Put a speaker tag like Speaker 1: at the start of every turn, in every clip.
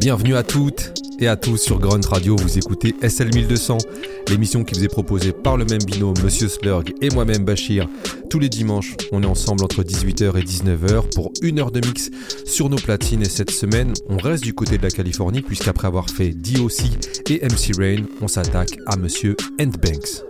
Speaker 1: Bienvenue à toutes et à tous sur Grunt Radio, vous écoutez SL1200, l'émission qui vous est proposée par le même binôme, Monsieur Slurg et moi-même Bachir. Tous les dimanches, on est ensemble entre 18h et 19h pour une heure de mix sur nos platines. Et cette semaine, on reste du côté de la Californie puisqu'après avoir fait DOC et MC Rain, on s'attaque à Monsieur Ant Banks.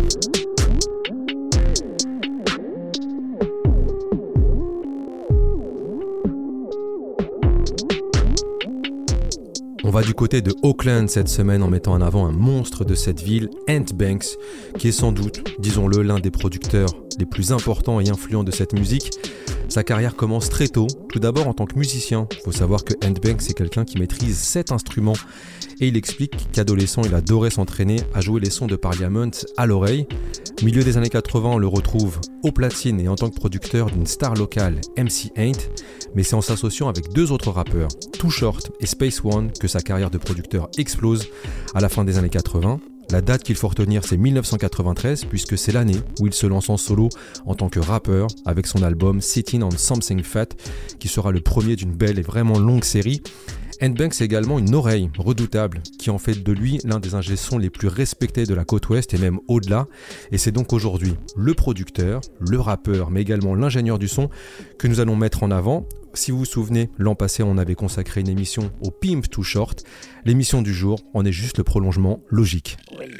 Speaker 1: On va du côté de Oakland cette semaine en mettant en avant un monstre de cette ville, Ant Banks, qui est sans doute, disons-le, l'un des producteurs les plus importants et influents de cette musique. Sa carrière commence très tôt, tout d'abord en tant que musicien. Il faut savoir que Ant Banks est quelqu'un qui maîtrise 7 instruments et il explique qu'adolescent, il adorait s'entraîner à jouer les sons de Parliament à l'oreille. Milieu des années 80, on le retrouve aux platines et en tant que producteur d'une star locale, MC Ant, mais c'est en s'associant avec 2 autres rappeurs, Too Short et Space One, que sa carrière de producteur explose à la fin des années 80. La date qu'il faut retenir, c'est 1993, puisque c'est l'année où il se lance en solo en tant que rappeur avec son album Sitting on Something Fat, qui sera le premier d'une belle et vraiment longue série. Ant Banks a également une oreille redoutable qui en fait de lui l'un des ingé-sons les plus respectés de la côte ouest et même au-delà. Et c'est donc aujourd'hui le producteur, le rappeur, mais également l'ingénieur du son que nous allons mettre en avant. Si vous vous souvenez, l'an passé, on avait consacré une émission au Pimp Too Short. L'émission du jour en est juste le prolongement logique.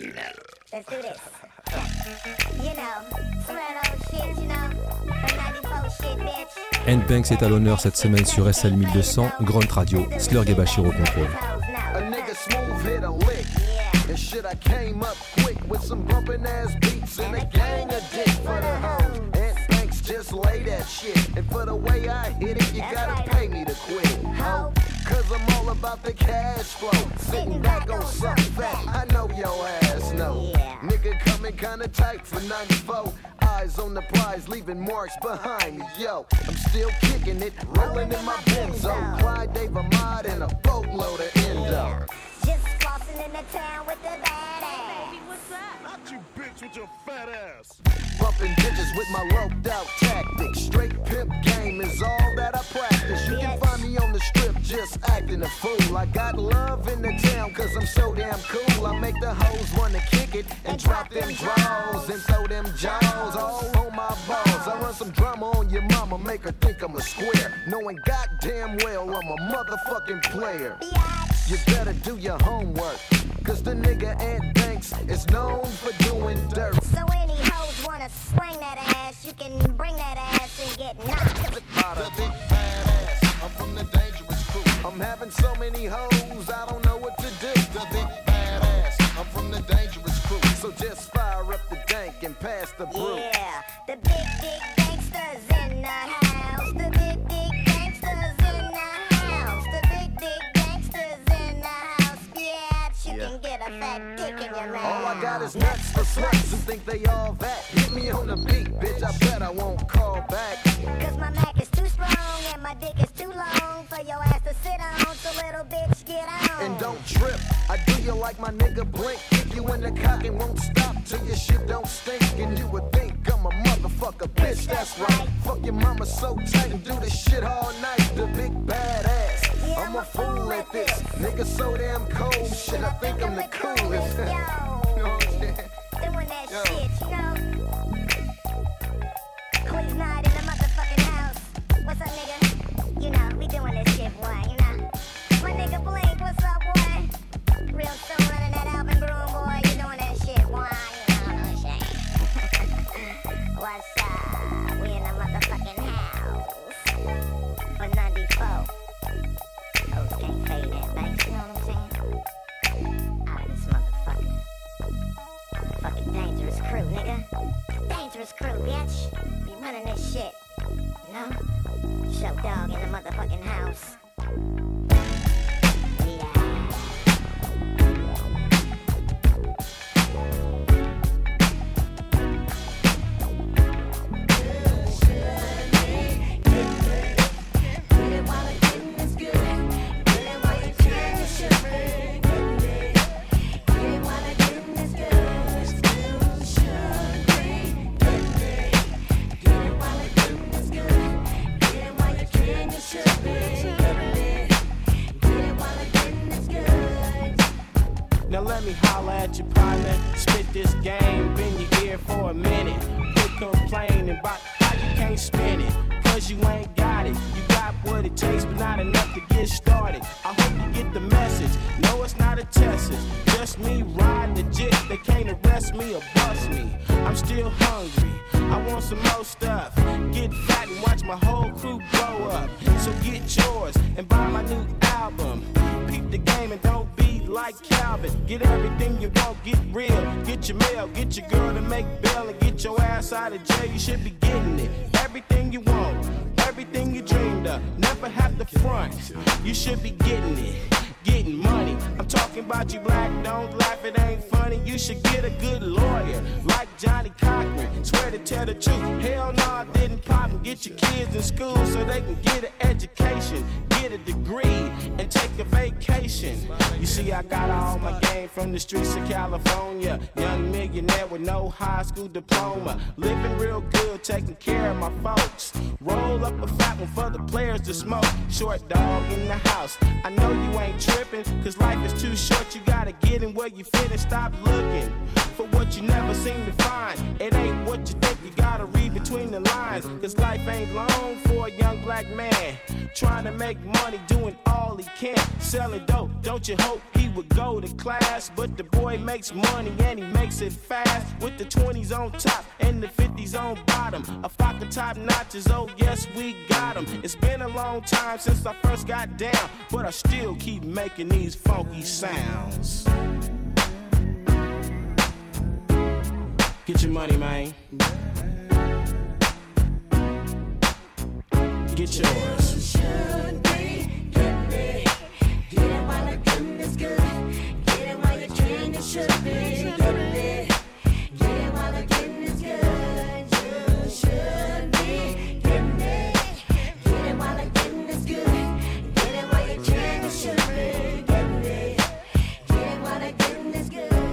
Speaker 1: Ant Banks est à l'honneur cette semaine sur SL1200, Grunt Radio, Slurg et Bachir au contrôle.
Speaker 2: Just lay that shit, and for the way I hit it, you gotta pay me to quit it, ho. Cause I'm all about the cash flow, sitting back on something fat, I know your ass know. Nigga coming kinda tight for 94, eyes on the prize, leaving marks behind me, yo. I'm still kicking it, rolling in my Benzo, Clyde Dave Ahmad and a boatload of Endo.
Speaker 3: Just flossing in the town with the badass.
Speaker 4: Baby, what's up?
Speaker 5: Not you bitch with your fat ass.
Speaker 2: Bumping bitches with my loped out tactics. Straight pimp game is all that I practice. You can find me on the strip just acting a fool. I got love in the town cause I'm so damn cool. I make the hoes wanna kick it and drop them draws and throw them jaws all on my balls. I run some drama on your mama, make her think I'm a square, knowing goddamn well I'm a motherfucking player. You better do your homework, cause the nigga Ant Banks is known for doing dirt.
Speaker 3: So any hoes wanna swing that ass, you can bring that ass and get knocked.
Speaker 2: The big badass, I'm from the dangerous crew. I'm having so many hoes, I don't know what to do. The big badass, I'm from the dangerous crew. So just fire up the dank and pass the brew.
Speaker 3: Yeah, the big gangsters in the house. The big gangsters in the house. The big gangsters in the house. Yeah, you can get a fat dick in your mouth.
Speaker 2: All I got is nuts for sluts who think they all that. Hit me on the beat, bitch, I bet I won't call back.
Speaker 3: Cause my Mac is too strong and my dick is too long for your ass to sit on, so little bitch get on.
Speaker 2: And don't trip, I do you like my nigga Blink. Kick you in the cock and won't stop till your shit don't stink. And you would think I'm a motherfucker, bitch, that's right. Fuck your mama so tight and do this shit all night. The big badass, I'm a fool at this. Nigga so damn cold, shit, I think I'm the coolest. You know what I'm saying?
Speaker 3: Doing that
Speaker 2: Yo.
Speaker 3: shit, you know. Quiz night in the motherfucking house. What's up, nigga? You know, we doing this shit, boy, you know. My nigga Blink, what's up, boy? Real soon running that Alvin Broom, boy. You doing that shit, boy, you know what I'm saying? What's up? We in the motherfucking house. For 94. Hoes can't fade that back, you know what I'm saying? Out of this motherfucker. Fucking dangerous crew, nigga. Dangerous crew, bitch. We running this shit. You know? Show dog in the motherfucking house.
Speaker 6: Should be.
Speaker 4: let me holler at your partner. Spit this game, been your ear for a minute. Quit complaining about how you can't spin it. Cause you ain't got it. You got what it takes, but not enough to get started. I hope you get the message. No, it's not a test. It's just me riding the jet. They can't arrest me or bust me. I'm still hungry. I want some more stuff. Get fat and watch my whole crew grow up. So get yours and buy my new album. Peep the game and don't be like Calvin. Get everything you want, get real. Get your mail, get your girl to make bail, and get your ass out of jail. You should be getting it. Everything you want, everything you dreamed of. Never have to front. You should be getting it. Getting money. I'm talking about you black, don't laugh, it ain't funny. You should get a good lawyer, like Johnny Cochran. Swear to tell the truth, hell no, I didn't pop and get your kids in school so they can get an education, get a degree, and take a vacation. You see, I got all my game from the streets of California. Young millionaire with no high school diploma. Living real good, taking care of my folks. Roll up a fat one for the players to smoke. Short dog in the house. I know you ain't tripping, cause life is too short. You gotta get in where you fit and stop looking for what you never seem to find. It ain't what you think, you gotta read between the lines. Cause life ain't long for a young black man trying to make money, doing all he can, selling dope. Don't you hope he would go to class? But the boy makes money and he makes it fast. With the 20s on top and the 50s on bottom. A flock of top notches, oh yes we got them. It's been a long time since I first got down, but I still keep making these funky sounds. Get your money, man. Get yours.
Speaker 6: Should be get it. Get it while the goodness good. Get it while you can. You should be get it. Get it while the goodness good. You should be get it. Get it while the goodness good. Get it while you can. You should be get it. Get it while the goodness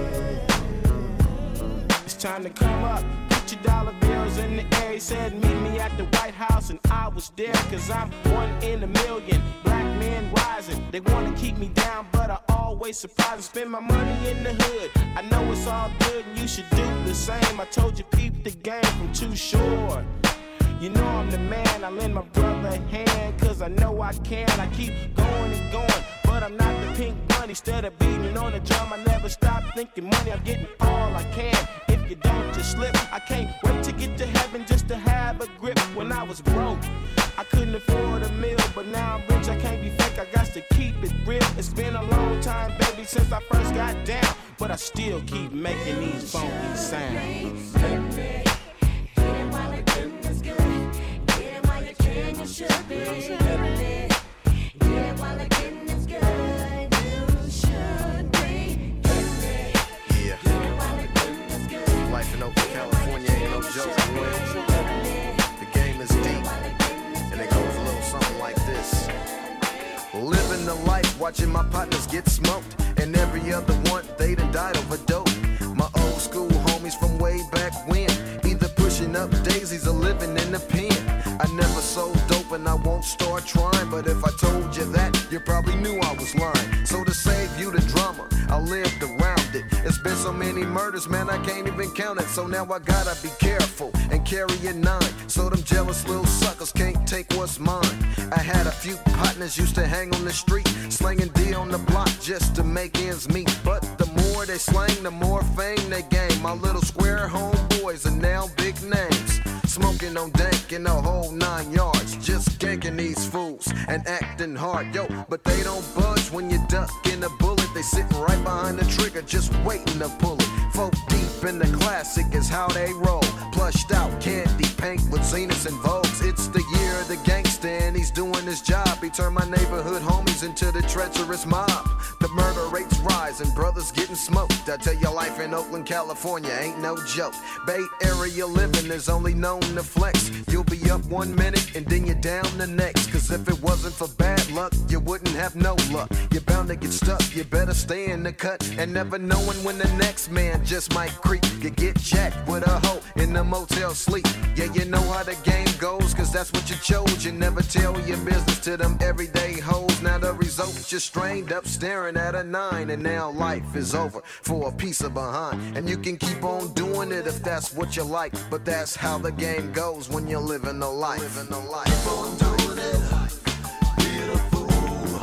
Speaker 6: good.
Speaker 4: It's time to come up. Put your dollar bills in the air. He said meet me at the White House, and I was there, cause I'm one in a million. Black men rising, they wanna keep me down, but I always surprise and spend my money in the hood. I know it's all good and you should do the same. I told you peep the game from Too Short. You know I'm the man, I lend my brother a hand, cause I know I can. I keep going and going, but I'm not the pink bunny. Instead of beating on the drum, I never stop thinking money. I'm getting all I can. If you don't just slip, I can't wait to get to heaven just to have a grip. When I was broke, I couldn't afford a meal, but now I'm rich, I can't be fake, I got to keep it real. It's been a long time, baby, since I first got down, but I still keep making these funky sounds.
Speaker 6: You should be getting it. Get it while the goodness good. You should be getting it.
Speaker 2: Yeah.
Speaker 6: Get it while the goodness good.
Speaker 2: Life in Oakland, California ain't no joke, boy. The game is deep, and it goes a little something like this. Living the life, watching my partners get smoked, and every other one, they done died over dope. My old school homies from way back when, either pushing up daisies or living in the pen. I never sold dope and I won't start trying, but if I told you that, you probably knew I was lying. So to save you the drama, I lived around it. It's been so many murders, man, I can't even count it. So now I gotta be careful and carry a 9, so them jealous little suckers can't take what's mine. I had a few partners used to hang on the street, slinging D on the block just to make ends meet. But the more they slang, the more fame they gain. My little square homeboys are now big names, smoking on dank in the whole 9 yards, just ganking these fools and acting hard, yo. But they don't budge when you duck in a bullet. They sitting right behind the trigger, just waiting to pull it. Folk deep in the classic is how they roll. Plushed out candy paint with Zeniths and Vogues. It's the year of the gangster and he's doing his job. He turned my neighborhood homies into the treacherous mob. The murder rates rise and brothers getting smoked. I tell you, life in Oakland, California ain't no joke. Bay area living is only known to flex. You'll be up 1 minute and then you're down the next. Cause if it wasn't for bad luck, you wouldn't have no luck. You're bound to get stuck, you better stay in the cut. And never knowing when the next man just might creep. You get jacked with a hoe in the motel sleep. Yeah, you know how the game goes, cause that's what you chose. You never tell your business to them everyday hoes. Now the result, you're strained up staring at a 9. And now life is over for a piece of behind. And you can keep on doing it if that's what you like. But that's how the game goes when you're living a life. Keep on doing it. Being a fool.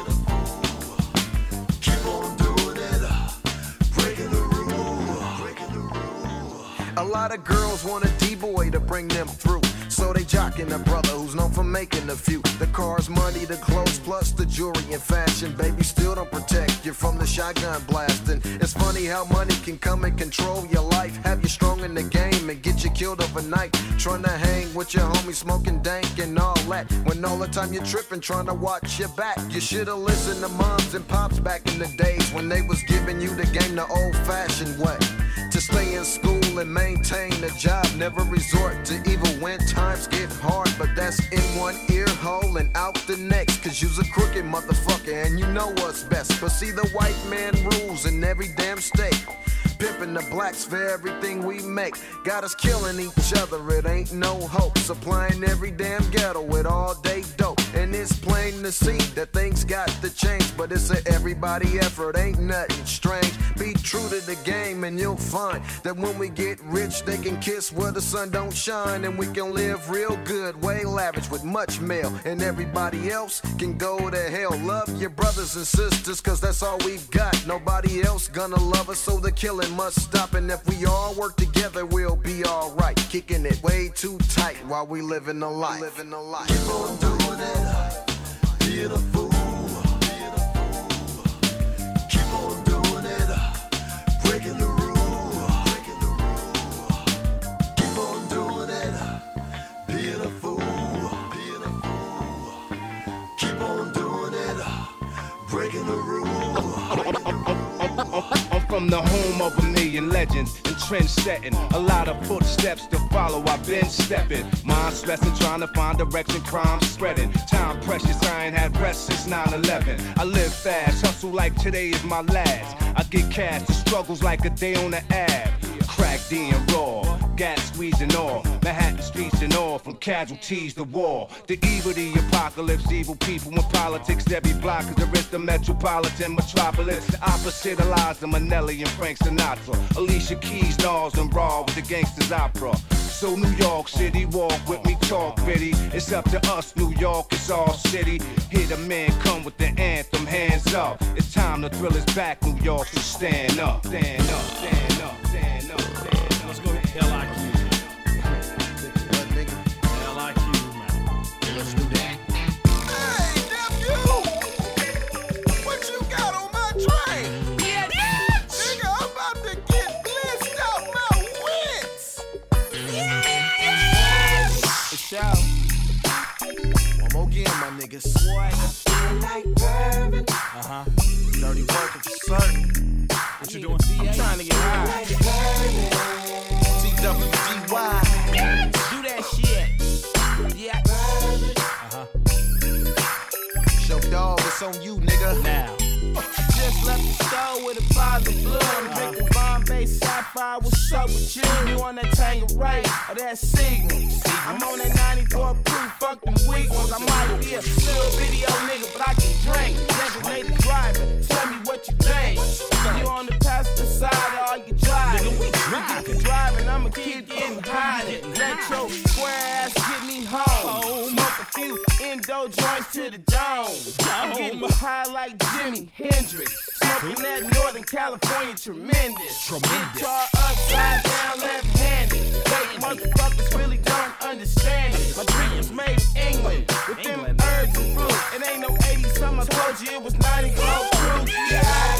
Speaker 2: Keep on doing it. Breaking the rule. A lot of girls want a D-boy to bring them through. So they jockin' a brother who's known for making a few. The cars, money, the clothes, plus the jewelry and fashion. Baby, still don't protect you from the shotgun blasting. It's funny how money can come and control your life. Have you strong in the game and get you killed overnight. Trying to hang with your homie, smoking dank and all that. When all the time you're tripping, trying to watch your back. You should've listened to moms and pops back in the days when they was giving you the game the old-fashioned way. To stay in school and maintain a job, never resort to evil when times get hard. But that's in one ear hole and out the next. Cause you's a crooked motherfucker and you know what's best. But see, the white man rules in every damn state. Pimping the blacks for everything we make. Got us killing each other, it ain't no hope. Supplying every damn ghetto with all day dope. And it's plain to see that things got to change. But it's a everybody effort, ain't nothing strange. Be true to the game and you'll find that when we get rich, they can kiss where the sun don't shine. And we can live real good, way lavish with much mail. And everybody else can go to hell. Love your brothers and sisters, cause that's all we've got. Nobody else gonna love us, so the killing must stop. And if we all work together, we'll be alright. Kicking it way too tight while we living a life. Keep on doing it. Being a fool. Keep on doing it. Breaking the rule. Keep on doing it. Being a fool. Keep on doing it. Breaking the rule.
Speaker 7: I'm from the home of a million legends and trend setting. A lot of footsteps to follow, I've been stepping. Mind stressing, trying to find direction, crime spreading. Time precious, I ain't had rest since 9/11. I live fast, hustle like today is my last. I get cash, the struggles like a day on the ab. Crack D and raw, gas squeezing all. Manhattan streets and all, from casualties to war. The evil, the apocalypse, evil people in politics. Every block is the rest of metropolitan metropolis. The opposite of Liza Minnelli and Frank Sinatra. Alicia Keys, Nas and Raw with the gangsters opera. So New York City, walk with me, talk bitty. It's up to us, New York, it's our city. Hear the man come with the anthem, hands up. It's time to thrill is back, New York, so stand up, stand up, stand up, stand up, stand up.
Speaker 8: Let's go to LIQ. LIQ, man.
Speaker 2: Let's do that. Hey, nephew! What you got on my train? Yeah, nigga, I'm about to get blitzed out my wits.
Speaker 4: For sure.
Speaker 2: One more again, my niggas.
Speaker 4: Boy, I feel like bourbon.
Speaker 2: Dirty working for certain.
Speaker 8: What you doing?
Speaker 4: I'm trying to get high.
Speaker 2: TWDY.
Speaker 4: Do that shit. Yeah.
Speaker 2: Show dog, it's on you, nigga.
Speaker 8: Now.
Speaker 4: I just left the store with a bottle of blood. I'm drinking Bombay Sapphire. What's up with you? You on that Tanqueray or that Signal? I'm on that 94 proof. Fuck them weak ones. I might be a little video nigga, but I can drink. Designated driver. Tell me what you think. You on the passenger side or you driving?
Speaker 8: Nigga, we driving.
Speaker 4: Driving, I'ma keep getting high. Let your square ass get me home. Smoke a few endo joints to the dome. I'm getting high like Jimi Hendrix. Smoking that Northern California tremendous. Guitar upside down, left-handed. Fake motherfuckers really don't understand it. My drink was made in England with them herbs and fruit. It ain't no 80s, something I told you it was 94 proof. Yeah.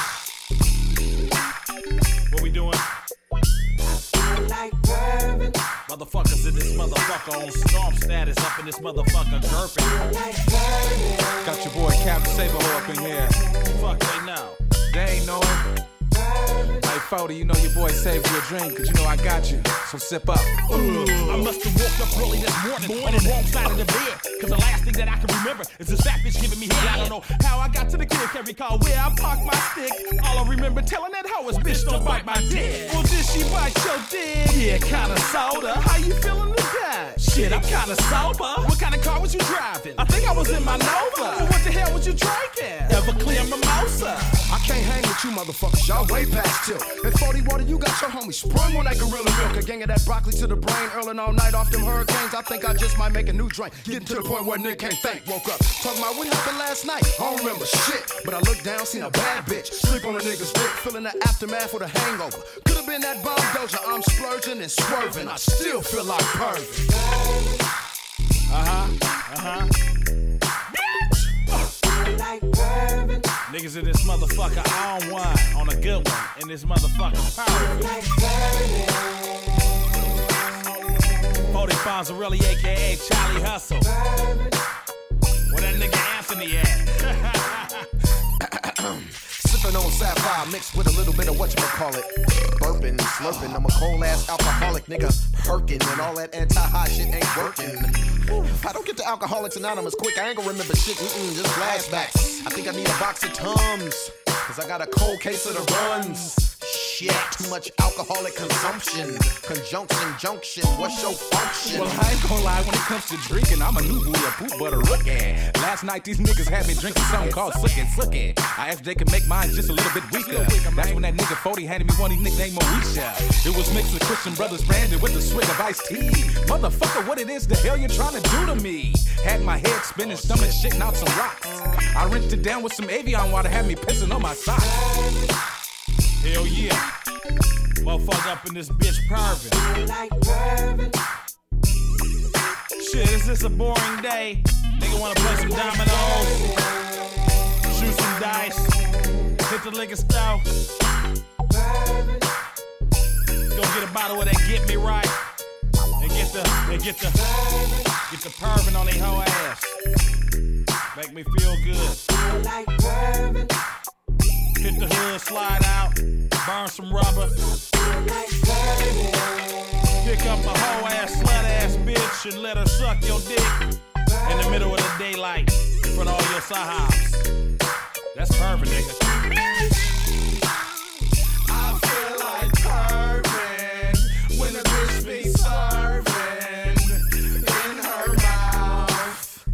Speaker 8: What we doing?
Speaker 4: Like bourbon.
Speaker 8: Motherfuckers in this motherfucker on storm status up in this motherfucker gurping.
Speaker 4: Like
Speaker 9: Got your boy Captain Sabo up in here.
Speaker 8: Fuck they know.
Speaker 9: They ain't know him. Life 40, you know your boy saved you a drink, cause you know I got you. So sip up.
Speaker 8: I must have woke up early this morning on the wrong side of the bed. Cause the last thing that I can remember is this fat bitch giving me head. I don't know how I got to the kid, can't recall where I parked my stick. All I remember telling that hoe is, bitch, don't bite my dick. Well, did she bite your dick? Yeah, kinda sorta. How you feeling today? Shit, I'm kinda sober. What kind of car was you driving? I think I was in my Nova. Well, what the hell was you drinking? Everclear Mimosa.
Speaker 10: I can't hang with you motherfuckers, y'all way past tilt. And 40 water, you got your homie sprung on that gorilla milk. A gang of that broccoli to the brain, earling all night off them hurricanes. I think I just might make a new drink. Getting to the point where Nick can't think. Woke up, talking about what happened last night. I don't remember shit, but I looked down, seen a bad bitch. Sleep on a nigga's dick, feeling the aftermath with a hangover. Could've been that bomb doja, I'm splurging and swerving. I still feel like perfect.
Speaker 8: Niggas in this motherfucker on one, on a good one, in this motherfucker power. 40 Fonzarelli, aka Charlie Hustle. Where that nigga Anthony at?
Speaker 10: Sipping on sapphire mixed with a little bit of whatchamacallit. Burping, slurping, I'm a cold ass alcoholic nigga. Perking and all that anti-high shit ain't working. If I don't get to Alcoholics Anonymous quick, I ain't gonna remember shit, just flashbacks. I think I need a box of Tums, cause I got a cold case of the runs. Shit, too much alcoholic consumption. Conjunction, junction, what's your function?
Speaker 9: Well, I ain't gonna lie, when it comes to drinking, I'm a new boy, a poop butter rookie. Last night, these niggas had me drinking something called Sookin'. I asked if they could make mine just a little bit weaker. That's when that nigga 40 handed me one of these niggas named Moesha. It was mixed with Christian Brothers branded with a swig of iced tea. Motherfucker, what it is the hell you trying to do to me? Had my head spinning, stomach shitting out some rocks. I rinsed it down with some Avion water, had me pissing on my socks.
Speaker 8: Hell yeah. Motherfucker up in this bitch pervin'. Shit, is this a boring day? Nigga wanna play some dominoes, shoot some dice, hit the liquor store, go get a bottle of that Get Me Right, and get the pervin' on they whole ass. Make me feel good. Hit the hood, slide out, burn some rubber. Pick up a whole ass, slut ass bitch and let her suck your dick in the middle of the daylight in front of all your sahibs. That's perfect, nigga.
Speaker 10: I feel like perfect when a bitch be serving in her mouth.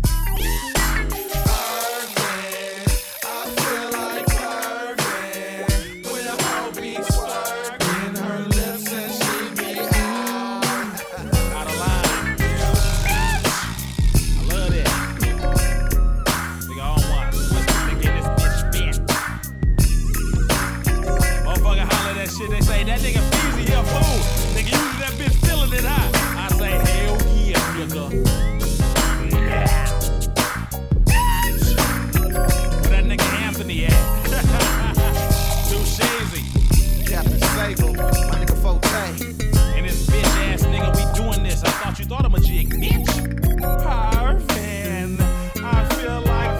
Speaker 10: Perfect, I feel like perfect when a hoe be swerving her lips and she be out.
Speaker 8: Out of line. I love that. Nigga, I don't want to nigga get this bitch bent. Motherfucker holler that shit, they say that nigga Feezy here fool. Nigga, usually that bitch feeling it hot. I say hell yeah, nigga. Where that nigga Anthony at? Too shazy.
Speaker 10: Captain Sable, my nigga Forte.
Speaker 8: And this bitch ass nigga, we doing this. I thought you thought I'm a jig, bitch. Parfin', I feel like.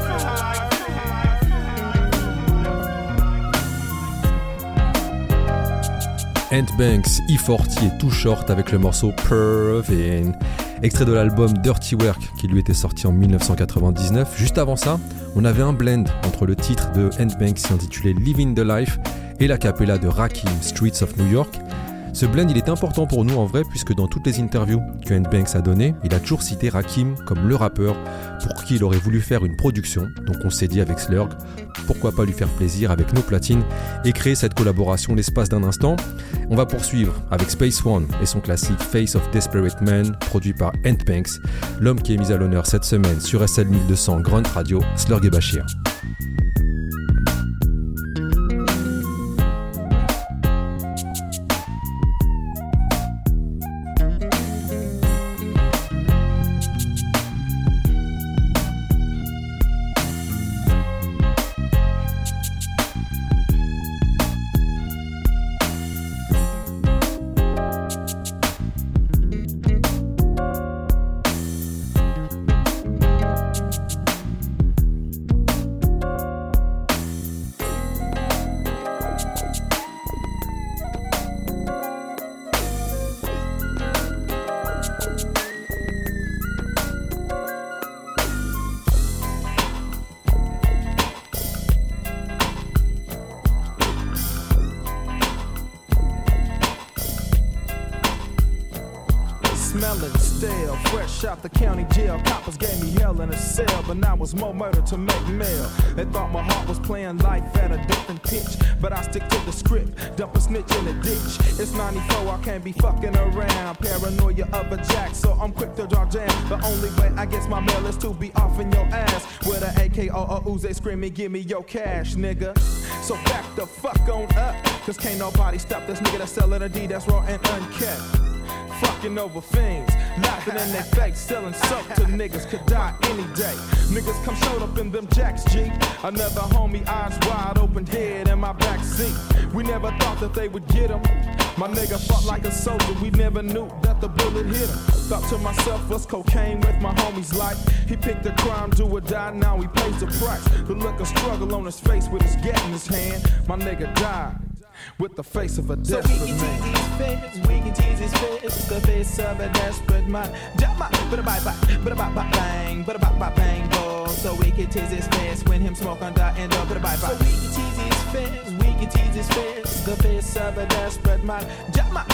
Speaker 1: Ant Banks, E40 et Too Short avec le morceau Pervin, extrait de l'album Dirty Work qui lui était sorti en 1999. Juste avant ça, on avait un blend entre le titre de Ant Banks intitulé Living the Life et la cappella de Rakim, Streets of New York. Ce blend, il est important pour nous en vrai puisque dans toutes les interviews que Ant Banks a données, il a toujours cité Rakim comme le rappeur pour qui il aurait voulu faire une production. Donc on s'est dit avec Slurg, pourquoi pas lui faire plaisir avec nos platines et créer cette collaboration l'espace d'un instant. On va poursuivre avec Space One et son classique Face of Desperate Man, produit par Ant Banks, l'homme qui est mis à l'honneur cette semaine sur SL 1200 Grunt Radio, Slurg et Bashir.
Speaker 4: smelling stale. Fresh out the county jail, coppers gave me hell in a cell, but now it's more murder to make mail. They thought my heart was playing life at a different pitch, but I stick to the script, dump a snitch in the ditch. It's 94, I can't be fucking around. Paranoia of a jack, so I'm quick to draw jam. The only way I get my mail is to be off in your ass with an AK or a Uzi screaming, give me your cash, nigga. So back the fuck on up, cause can't nobody stop this nigga that's selling a D that's raw and unkept. Fucking over fiends, laughing in their face, selling soap to niggas could die any day. Niggas come showed up in them jacks, G. Another homie, eyes wide open, dead in my back seat. We never thought that they would get him. My nigga fought like a soldier, we never knew that the bullet hit him. Thought to myself, what's cocaine with my homie's life? He picked a crime, do or die, now he pays the price. The look of struggle on his face with his gat in his hand. My nigga died with the face of a desperate man.
Speaker 11: So we can tease his face, we can tease his face, the face of a desperate man. Jump up, bang, bang, boy. So we can tease his face when him smoke under and up, bye. So we can tease his face, we can tease his face, the face of a desperate man. Jump up,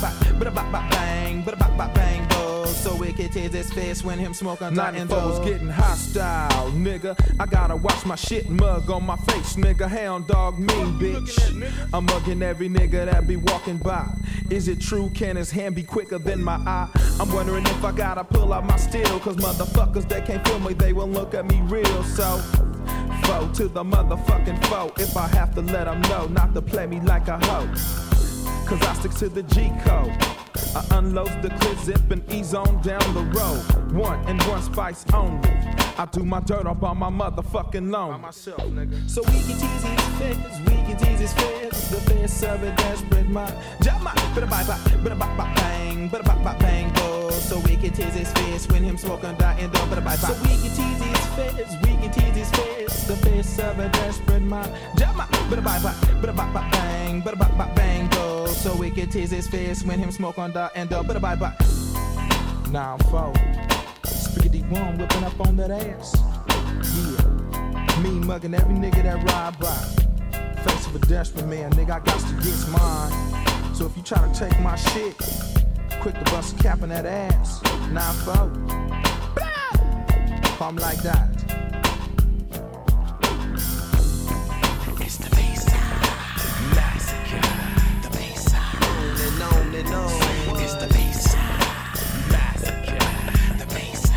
Speaker 11: bang, bang, boy. So we can tease his face when him smoke under and up.
Speaker 4: 94's getting hostile, nigga. I gotta watch my shit mug on my face, nigga. Hound dog mean, bitch. I'm mugging every nigga that be walking by. Is it true? Can his hand be quicker than my eye? I'm wondering if I gotta pull out my steel, cause motherfuckers, they can't feel me, they won't look at me real. So, foe to the motherfucking foe. If I have to let them know not to play me like a hoe, cause I stick to the G code. I unload the clip, zip and ease on down the road. One and one spice only. I do my dirt up on my motherfucking loan. By myself, nigga.
Speaker 11: So we can tease his face, we can tease his face, the face of a desperate man. Jump up, bang, bang, boy. So we can tease his face when him smoke and die and up, bye. So we can tease his face, we can tease his face, the face of a desperate man. Jump up, bang, bang, boy. So we can tease his face when him smoke and die and up, bye.
Speaker 4: Now I'm foe. Spaghetti one whipping up on that ass. Yeah, me mugging every nigga that ride by. Face of a desperate man, nigga, I got to get mine. So if you try to take my shit, quick to bust a cap in that ass. 9-4. Call me like that.
Speaker 11: It's the Bayside Massacre. The Bayside. On and on. It's the Bayside Massacre. The Bayside.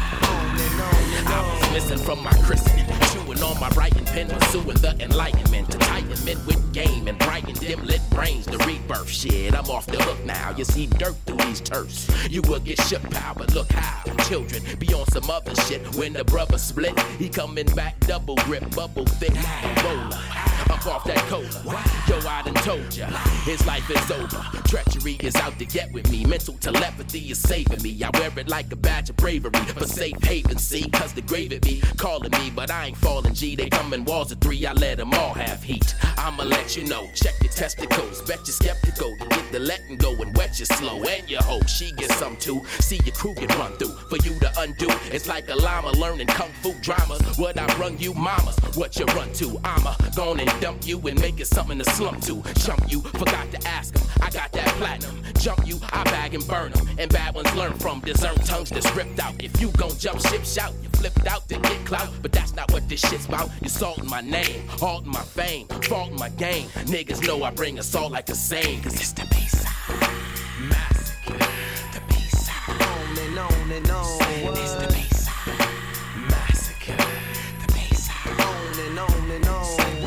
Speaker 12: I was missing from my christening, chewing on my writing pen, pursuing the enlightenment, to tighten men with game and brighten dim lit brains. The rebirth shit, I'm off the hook now. You see dirt through these turfs, you will get shook, pal. But look how children be on some other shit. When the brother split, he coming back double grip, bubble thick roller. Up off that cola, yo, I done told ya, his life is over. Treachery is out to get with me, mental telepathy is saving me. I wear it like a badge of bravery, for safe haven, see, cause the grave it be calling me, but I ain't falling, G. They come in walls of 3, I let them all have heat. I'ma let you know, check your testicles, bet you're skeptical. You get the letting go and wet you slow, and your hoe, she gets some too. See your crew get run through, for you to undo. It's like a llama learning kung fu dramas. What I brung you, mamas, what you run to? I'ma gone and dump you and make it something to slump to. Chump you, forgot to ask him, I got that platinum. Jump you, I bag and burn them. And bad ones learn from dessert tongues that's ripped out. If you gon' jump ship, shout. You flipped out to get clout, but that's not what this shit's about. You're salting my name, halting my fame, faulting my game. Niggas know I bring assault like a sane, cause it's the Bayside Massacre. The Bayside.
Speaker 11: On and on and on.
Speaker 12: It's the Bayside Massacre. The Bayside.
Speaker 11: On and on and on.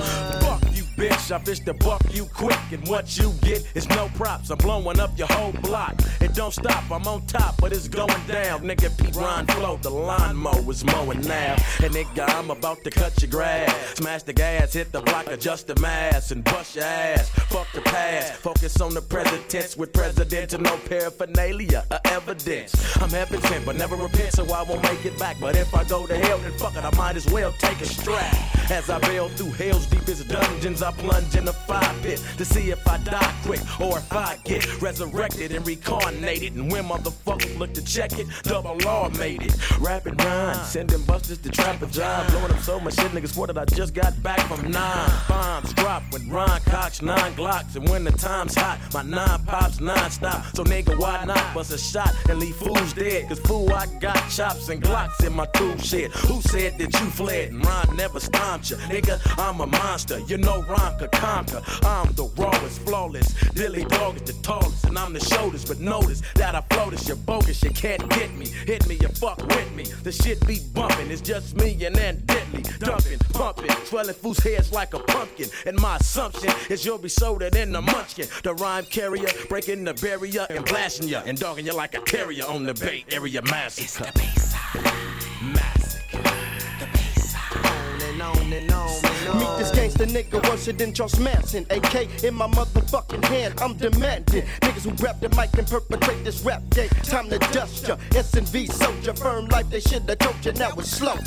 Speaker 8: Bitch, I fish the buck you quick, and what you get is no props. I'm blowing up your whole block. It don't stop, I'm on top, but it's going down. Nigga, Pete Ron flow, the lawnmower is mowing now. And nigga, I'm about to cut your grass. Smash the gas, hit the block, adjust the mass, and bust your ass. Fuck the past, focus on the present tense with presidential, no paraphernalia or evidence. I'm heaven sent, but never repent, so I won't make it back. But if I go to hell, then fuck it, I might as well take a strap. As I bail through hell's deepest dungeons, I plunge in the fire pit to see if I die quick or if I get resurrected and reincarnated. And when motherfuckers look to check it, double law made it. Rapid rhyme, sending busters to trapper job, blowing up so much shit, niggas swore that I just got back from 9. Bombs drop,
Speaker 12: with Ron Cox, 9 Glocks. And when the time's hot, my 9 pops non-stop. So nigga, why not bust a shot and leave fools dead? Cause fool, I got chops and Glocks in my tool shed. Who said that you fled and Ron never stomped you? Nigga, I'm a monster, you know Ron could conquer. I'm the rawest, flawless, Dilly Dog is the tallest, and I'm the shoulders. But notice that I float, you're bogus, you can't get me. Hit me, you fuck with me. The shit be bumping, it's just me and then deadly. Dumping, pumping, swelling fools' heads like a pumpkin. And my assumption is you'll be soda than the munchkin. The rhyme carrier, breaking the barrier and blasting ya and dogging you like a terrier on the Bay Area massacre.
Speaker 6: It's the Bayside Massacre. The Bayside. On and on.
Speaker 13: Meet this gangster nigga worse than Charles Manson. AK in my motherfucking hand, I'm demanding. Niggas who grab the mic and perpetrate this rap game. Time to dust ya. S&V soldier, firm life, they shoulda told you now it's slow.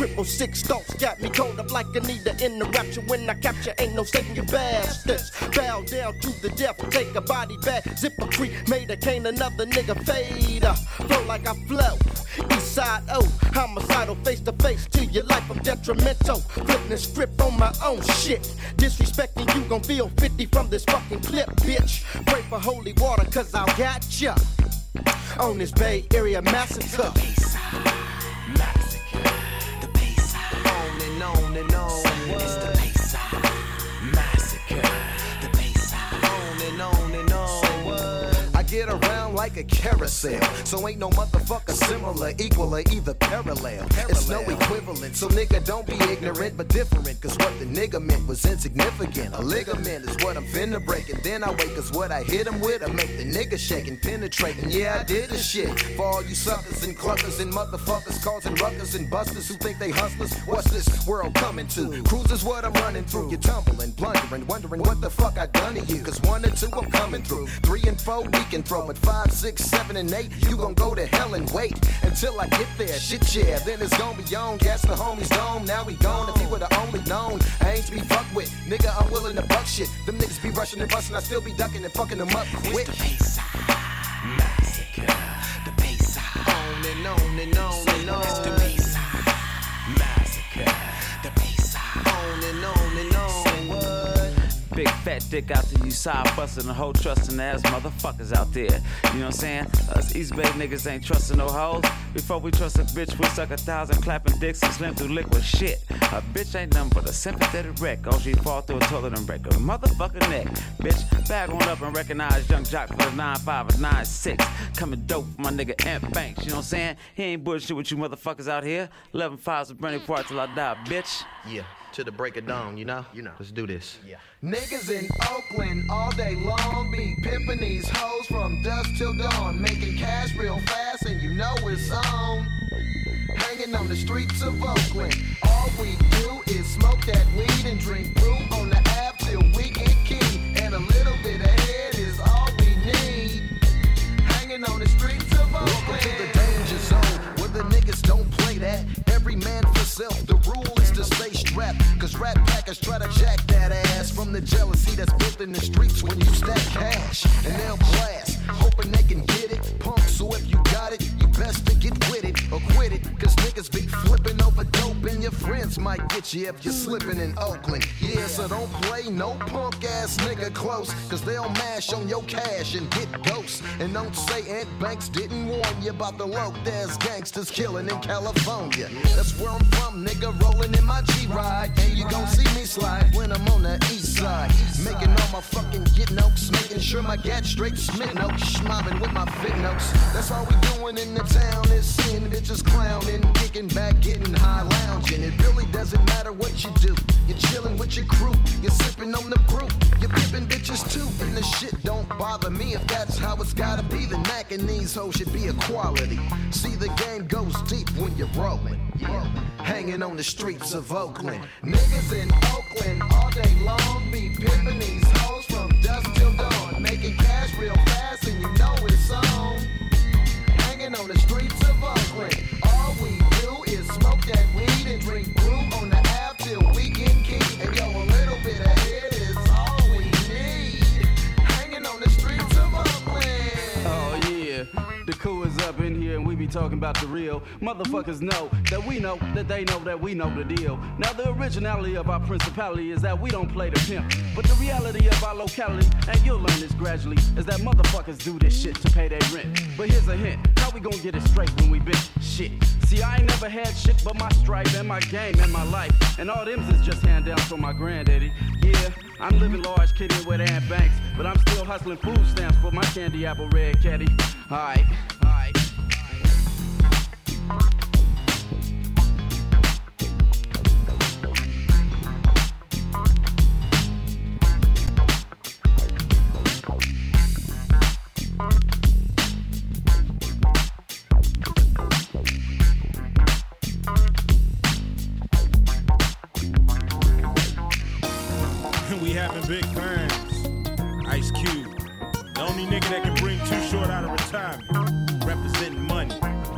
Speaker 13: 666 thoughts got me cold up like Anita in the rapture. When I capture, ain't no saving you bastards. Bow down to the death, take a body bag. Zip a tree, made a cane, another nigga fade. Flow like I flow. East side, oh, homicidal, face to face to your life, I'm detrimental. Flipping the script on my own shit. Disrespecting you gon' feel 50 from this fucking clip, bitch. Pray for holy water, cause I got ya on this Bay Area massacre.
Speaker 6: The Bayside Massacre. The Bayside. On and on and on. It's the Bayside Massacre. The Bayside.
Speaker 10: On and on and on. I get around like a carousel, so ain't no motherfucker similar, equal, or either parallel. It's no equivalent, so nigga don't be ignorant but different. Cause what the nigga meant was insignificant. A ligament is what I'm finna break, and then I wake. Cause what I hit him with, I make the nigga shake and penetrate. And yeah, I did this shit for all you suckers and cluckers and motherfuckers causing ruckus and busters who think they hustlers. What's this world coming to? Cruise is what I'm running through. You're tumbling, blundering, wondering what the fuck I done to you. Cause 1 and 2 I'm coming through, 3 and 4 we can throw, but 5, 6, 7, and 8 you gon' go to hell and wait until I get there. Shit, yeah, then it's gon' be on. Gas the homies dome, now we gone. If he would've only known, I ain't to be fucked with. Nigga, I'm willing to buck shit. Them niggas be rushing and busting, I still be ducking and fucking them up quick.
Speaker 6: It's the Bayside Massacre. The Bayside.
Speaker 10: On and on and on and on.
Speaker 6: It's the Bayside Massacre. The Bayside.
Speaker 10: On and on and on.
Speaker 14: Big fat dick out to you side bustin' the whole trustin' ass motherfuckers out there. You know what I'm saying? Us East Bay niggas ain't trustin' no hoes. Before we trust a bitch, we suck 1,000 clapping dicks and slim through liquid shit. A bitch ain't nothing but a sympathetic wreck. Oh, she fall through a toilet and wreck a motherfucking neck. Bitch, bag on up and recognize Young Jock for the 9.5 or 9.6. Coming dope for my nigga Ant Banks. You know what I'm saying? He ain't bullshit with you motherfuckers out here. 11.5's a burning part till I die, bitch.
Speaker 10: Yeah, to the break of dawn, you know? Let's do this.
Speaker 6: Yeah.
Speaker 10: Niggas in Oakland all day long be pimping these hoes from dusk till dawn, making cash real fast and you know it's on. Hanging on the streets of Oakland, all we do is smoke that weed and drink brew on the Ave till we get key, and a little bit of head is all we need. Hanging on the streets of Oakland. Welcome to the danger zone, where the niggas don't play that. Every man for self, the rule is to stay strapped. Cause rat packers try to jack that ass from the jealousy that's built in the streets when you stack cash. And they'll blast, hoping they can get it. Pump, so if you got it, you best to get with it or quit it. Cause niggas be flipping over dope and your friends might get you if you're slipping in Oakland. Yeah, so don't play no punk ass nigga close. Cause they'll mash on your cash and get ghosts. And don't say Ant Banks didn't warn you about the low there's gangsters killing in California. That's where I'm from, nigga, rolling in my G-Ride. And you gon' see me slide when I'm on the east side. Making all my fucking get notes, making sure my gat straight smit notes. Mobbing with my fit notes. That's all we doing in the town is seeing bitches clowning, kicking back, getting high, lounging. It really doesn't matter what you do. You're chilling with your crew, you're sipping on the brew. You're pimping bitches too, and the shit don't bother me. If that's how it's gotta be, then Mac and these hoes should be equality. See, the game goes deep when you're rolling. Hanging on the streets of Oakland. Niggas in Oakland all day long be pimping these hoes from dusk till dawn, making cash real fast and you know it's on. Hanging on the streets of Oakland, all we do is smoke that weed and drink brew on the Ave till we get key. And yo, a little bit of head is all we need. Hanging on the streets of Oakland.
Speaker 14: Oh yeah, the crew is up in here and we be
Speaker 15: ain't talking about the real. Motherfuckers know that we know that they know that we know the deal. Now the originality of our principality is that we don't play the pimp. But the reality of our locality, and you'll learn this gradually, is that motherfuckers do this shit to pay their rent. But here's a hint, how we gonna get it straight when we bitch? Shit. See, I ain't never had shit but my stripe and my game and my life. And all them is just hand down from my granddaddy. Yeah, I'm living large, kidding with Aunt Banks, but I'm still hustling food stamps for my candy apple red caddy. Alright, alright.
Speaker 8: We having big things. Ice Cube, the only nigga that can bring Too Short out of retirement, representing money.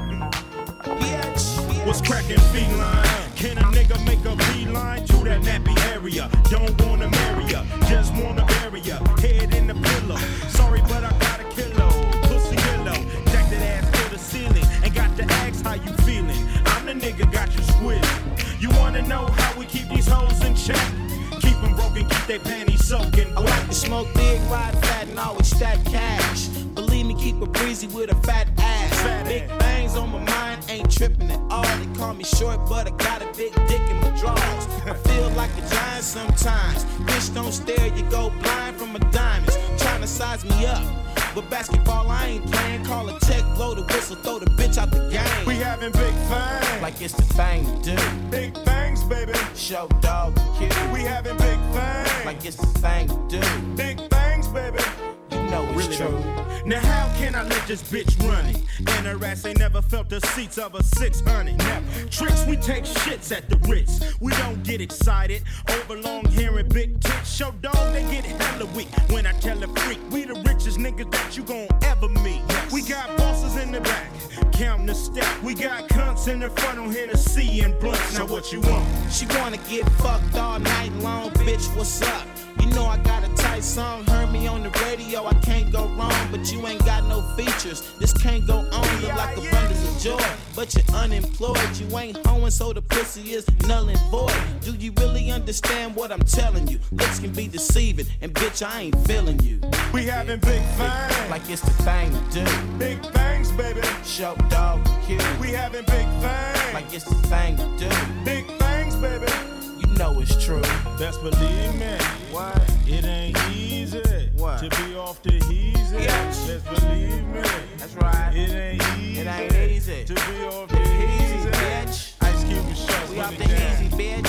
Speaker 8: What's cracking feline? Can a nigga make a beeline to that nappy area? Don't wanna marry ya, just wanna bury ya. Head in the pillow. Sorry, but I got a kilo. Pussy yellow, jack that ass to the ceiling. And got to ask how you feeling. I'm the nigga got you squeezing. You wanna know how we keep these hoes in check? Keep them broken, keep their panties soaking.
Speaker 11: I like to smoke big, ride fat, and always stack cash. Believe me, keep it breezy with a fat ass. Big bangs on my mind, ain't tripping at all. They call me short, but I got a big dick in my drawers. I feel like a giant sometimes. Bitch, don't stare, you go blind from my diamonds. Trying to size me up, but basketball I ain't playing. Call a check, blow the whistle, throw the bitch out the game.
Speaker 8: We having big things,
Speaker 11: like it's the thing to do.
Speaker 8: Big things, baby.
Speaker 11: Show dog kid.
Speaker 8: We having big things,
Speaker 11: like it's the thing to do.
Speaker 8: Big things, baby.
Speaker 11: You know it's
Speaker 8: really
Speaker 11: true.
Speaker 8: Now how can I let this bitch run it? And her ass ain't never felt the seats of a 600. Never. Tricks, we take shits at the Ritz. We don't get excited over long hair and big tits. Show dog, they get hella weak when I tell a freak. We the richest niggas that you gon' ever meet. We got bosses in the back, counting the stack. We got cunts in the front on Hennessy and blunts. Now what you want?
Speaker 11: She wanna get fucked all night long, bitch, what's up? You know I got a tight song, heard me on the radio, I can't go wrong, but you ain't got no features. This can't go on, look like abundance of joy, but you're unemployed, you ain't hoeing, so the pussy is null and void. Do you really understand what I'm telling you? Looks can be deceiving, and bitch, I ain't feeling you.
Speaker 8: We having big things,
Speaker 11: like it's the thing to do.
Speaker 8: Big things, baby.
Speaker 11: Show dog cute.
Speaker 8: We having big things,
Speaker 11: like it's the thing to do.
Speaker 8: Big things, baby.
Speaker 11: You know it's true.
Speaker 8: Best believe me.
Speaker 11: What?
Speaker 8: It ain't easy.
Speaker 11: What?
Speaker 8: To be off the heezy.
Speaker 11: Yes.
Speaker 8: Best believe me.
Speaker 11: That's right.
Speaker 8: It ain't easy.
Speaker 11: It ain't easy.
Speaker 8: To be off the heezy.
Speaker 11: Bitch.
Speaker 8: Ice Cube and Show.
Speaker 11: We off the easy, bitch.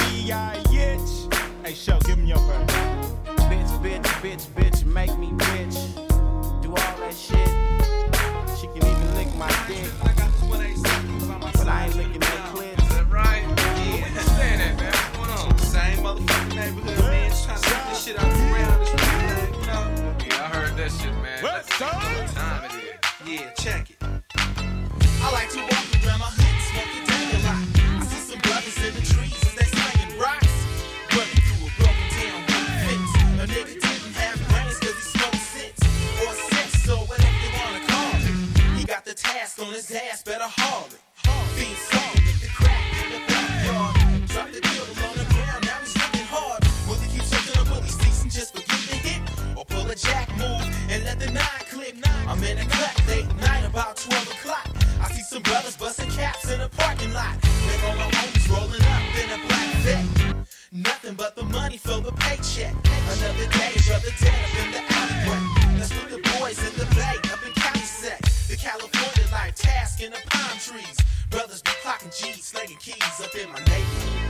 Speaker 8: B-I-H. Hey, Show, give me your phone.
Speaker 11: Bitch, make me bitch. Do all that shit. She can even lick my dick. But I ain't licking that clit.
Speaker 16: Is that right? Yeah. Where you staying at, man? What's going on? Same motherfucking neighborhood, man. Just trying to get this shit out the ground. This thing, you know? Yeah, I heard that shit, man.
Speaker 8: What
Speaker 16: time it is? Yeah, check it.
Speaker 11: I like to walk around my hood, smoking down a lot. I see some brothers in the trees as they slinging rocks. Running through a broken down fence. A nigga didn't have brains cause he smoked sense. Or sense, or whatever you wanna call it. He got the task on his ass, better haul it. Being sold with the crack in the backyard. Drop the deal on the ground, now he's looking hard. Will he keep searching or will he cease and just forget the hit? Or pull a jack move and let the 9 click? I'm in a cut late night about 12 o'clock. I see some brothers busting caps in a parking lot. Then all my homies rolling up in a black vet. Nothing but the money for the paycheck. Another day, brother dead up in the alleyway. That's with the boys in the bay up in County Set. The California life task in the palm trees. Brothers be clocking G's, slinging keys up in my neighborhood.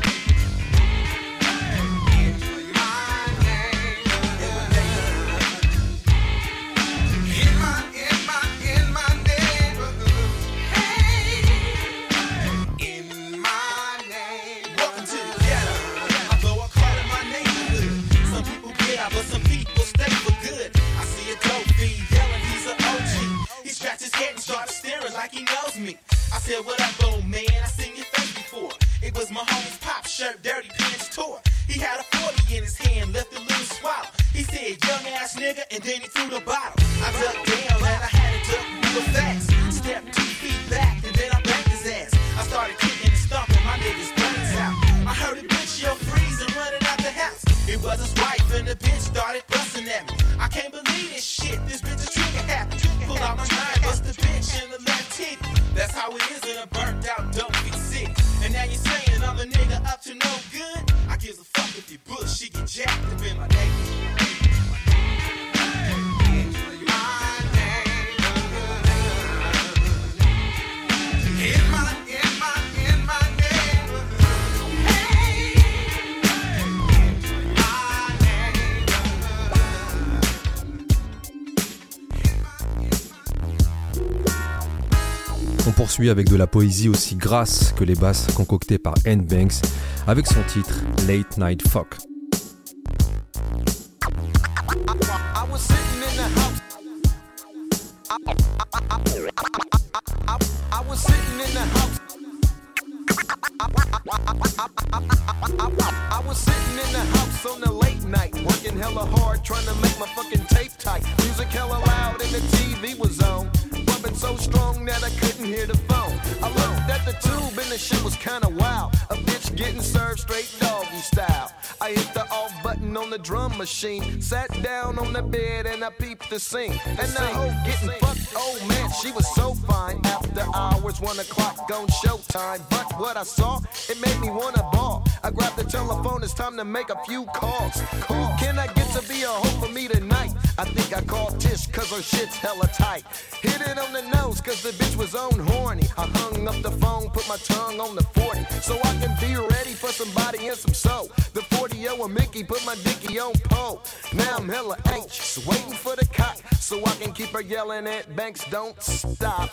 Speaker 11: But some people stay for good. I see a dope fiend yelling, he's an OG. He scratched his head and started staring like he knows me. I said, what up, old man? I seen your face before. It was my homie's pop shirt, dirty pants tore. He had a 40 in his hand, left a little swallow. He said, young ass nigga, and then he threw the bottle. I ducked down and I had to duck real fast. Stepped 2 feet back and then
Speaker 17: was his wife, and the bitch started busting at me. I can't believe this shit, this bitch is trigger happy. Pull out my nine, bust the bitch in the left titty. That's how it is in a burnt out dope fit sick. And now you saying I'm a nigga up to no good? I gives a fuck if you bullshit get jacked up in my neighborhood.
Speaker 1: On poursuit avec de la poésie aussi grasse que les basses concoctées par N-Banks avec son titre Late Night Fuck.
Speaker 10: I was sitting in the house. I was sitting in the house. I was sitting in the house on the late night, working hella hard, trying to make my fucking tape tight. Music hella loud and the TV was on, bumping so strong that I couldn't hear the phone. I looked at the tube and the shit was kinda wild. A bitch getting served straight doggy style. I hit the off button on the drum machine, sat down on the bed and I peeped the scene. And the hoe getting fucked, oh man, she was so fine. After hours, 1 o'clock, gone showtime. But what I saw, it made me wanna ball. I grabbed the telephone, it's time to make a few calls. Can I get to be a hoe for me tonight? I think I called Tish cause her shit's hella tight. Hit it on the nose cause the bitch was on horny. I hung up the phone, put my tongue on the 40 so I can be ready for somebody and some soul. The 40-0 and Mickey put my dicky on pole. Now I'm hella anxious, waiting for the cop so I can keep her yelling at Banks, don't stop.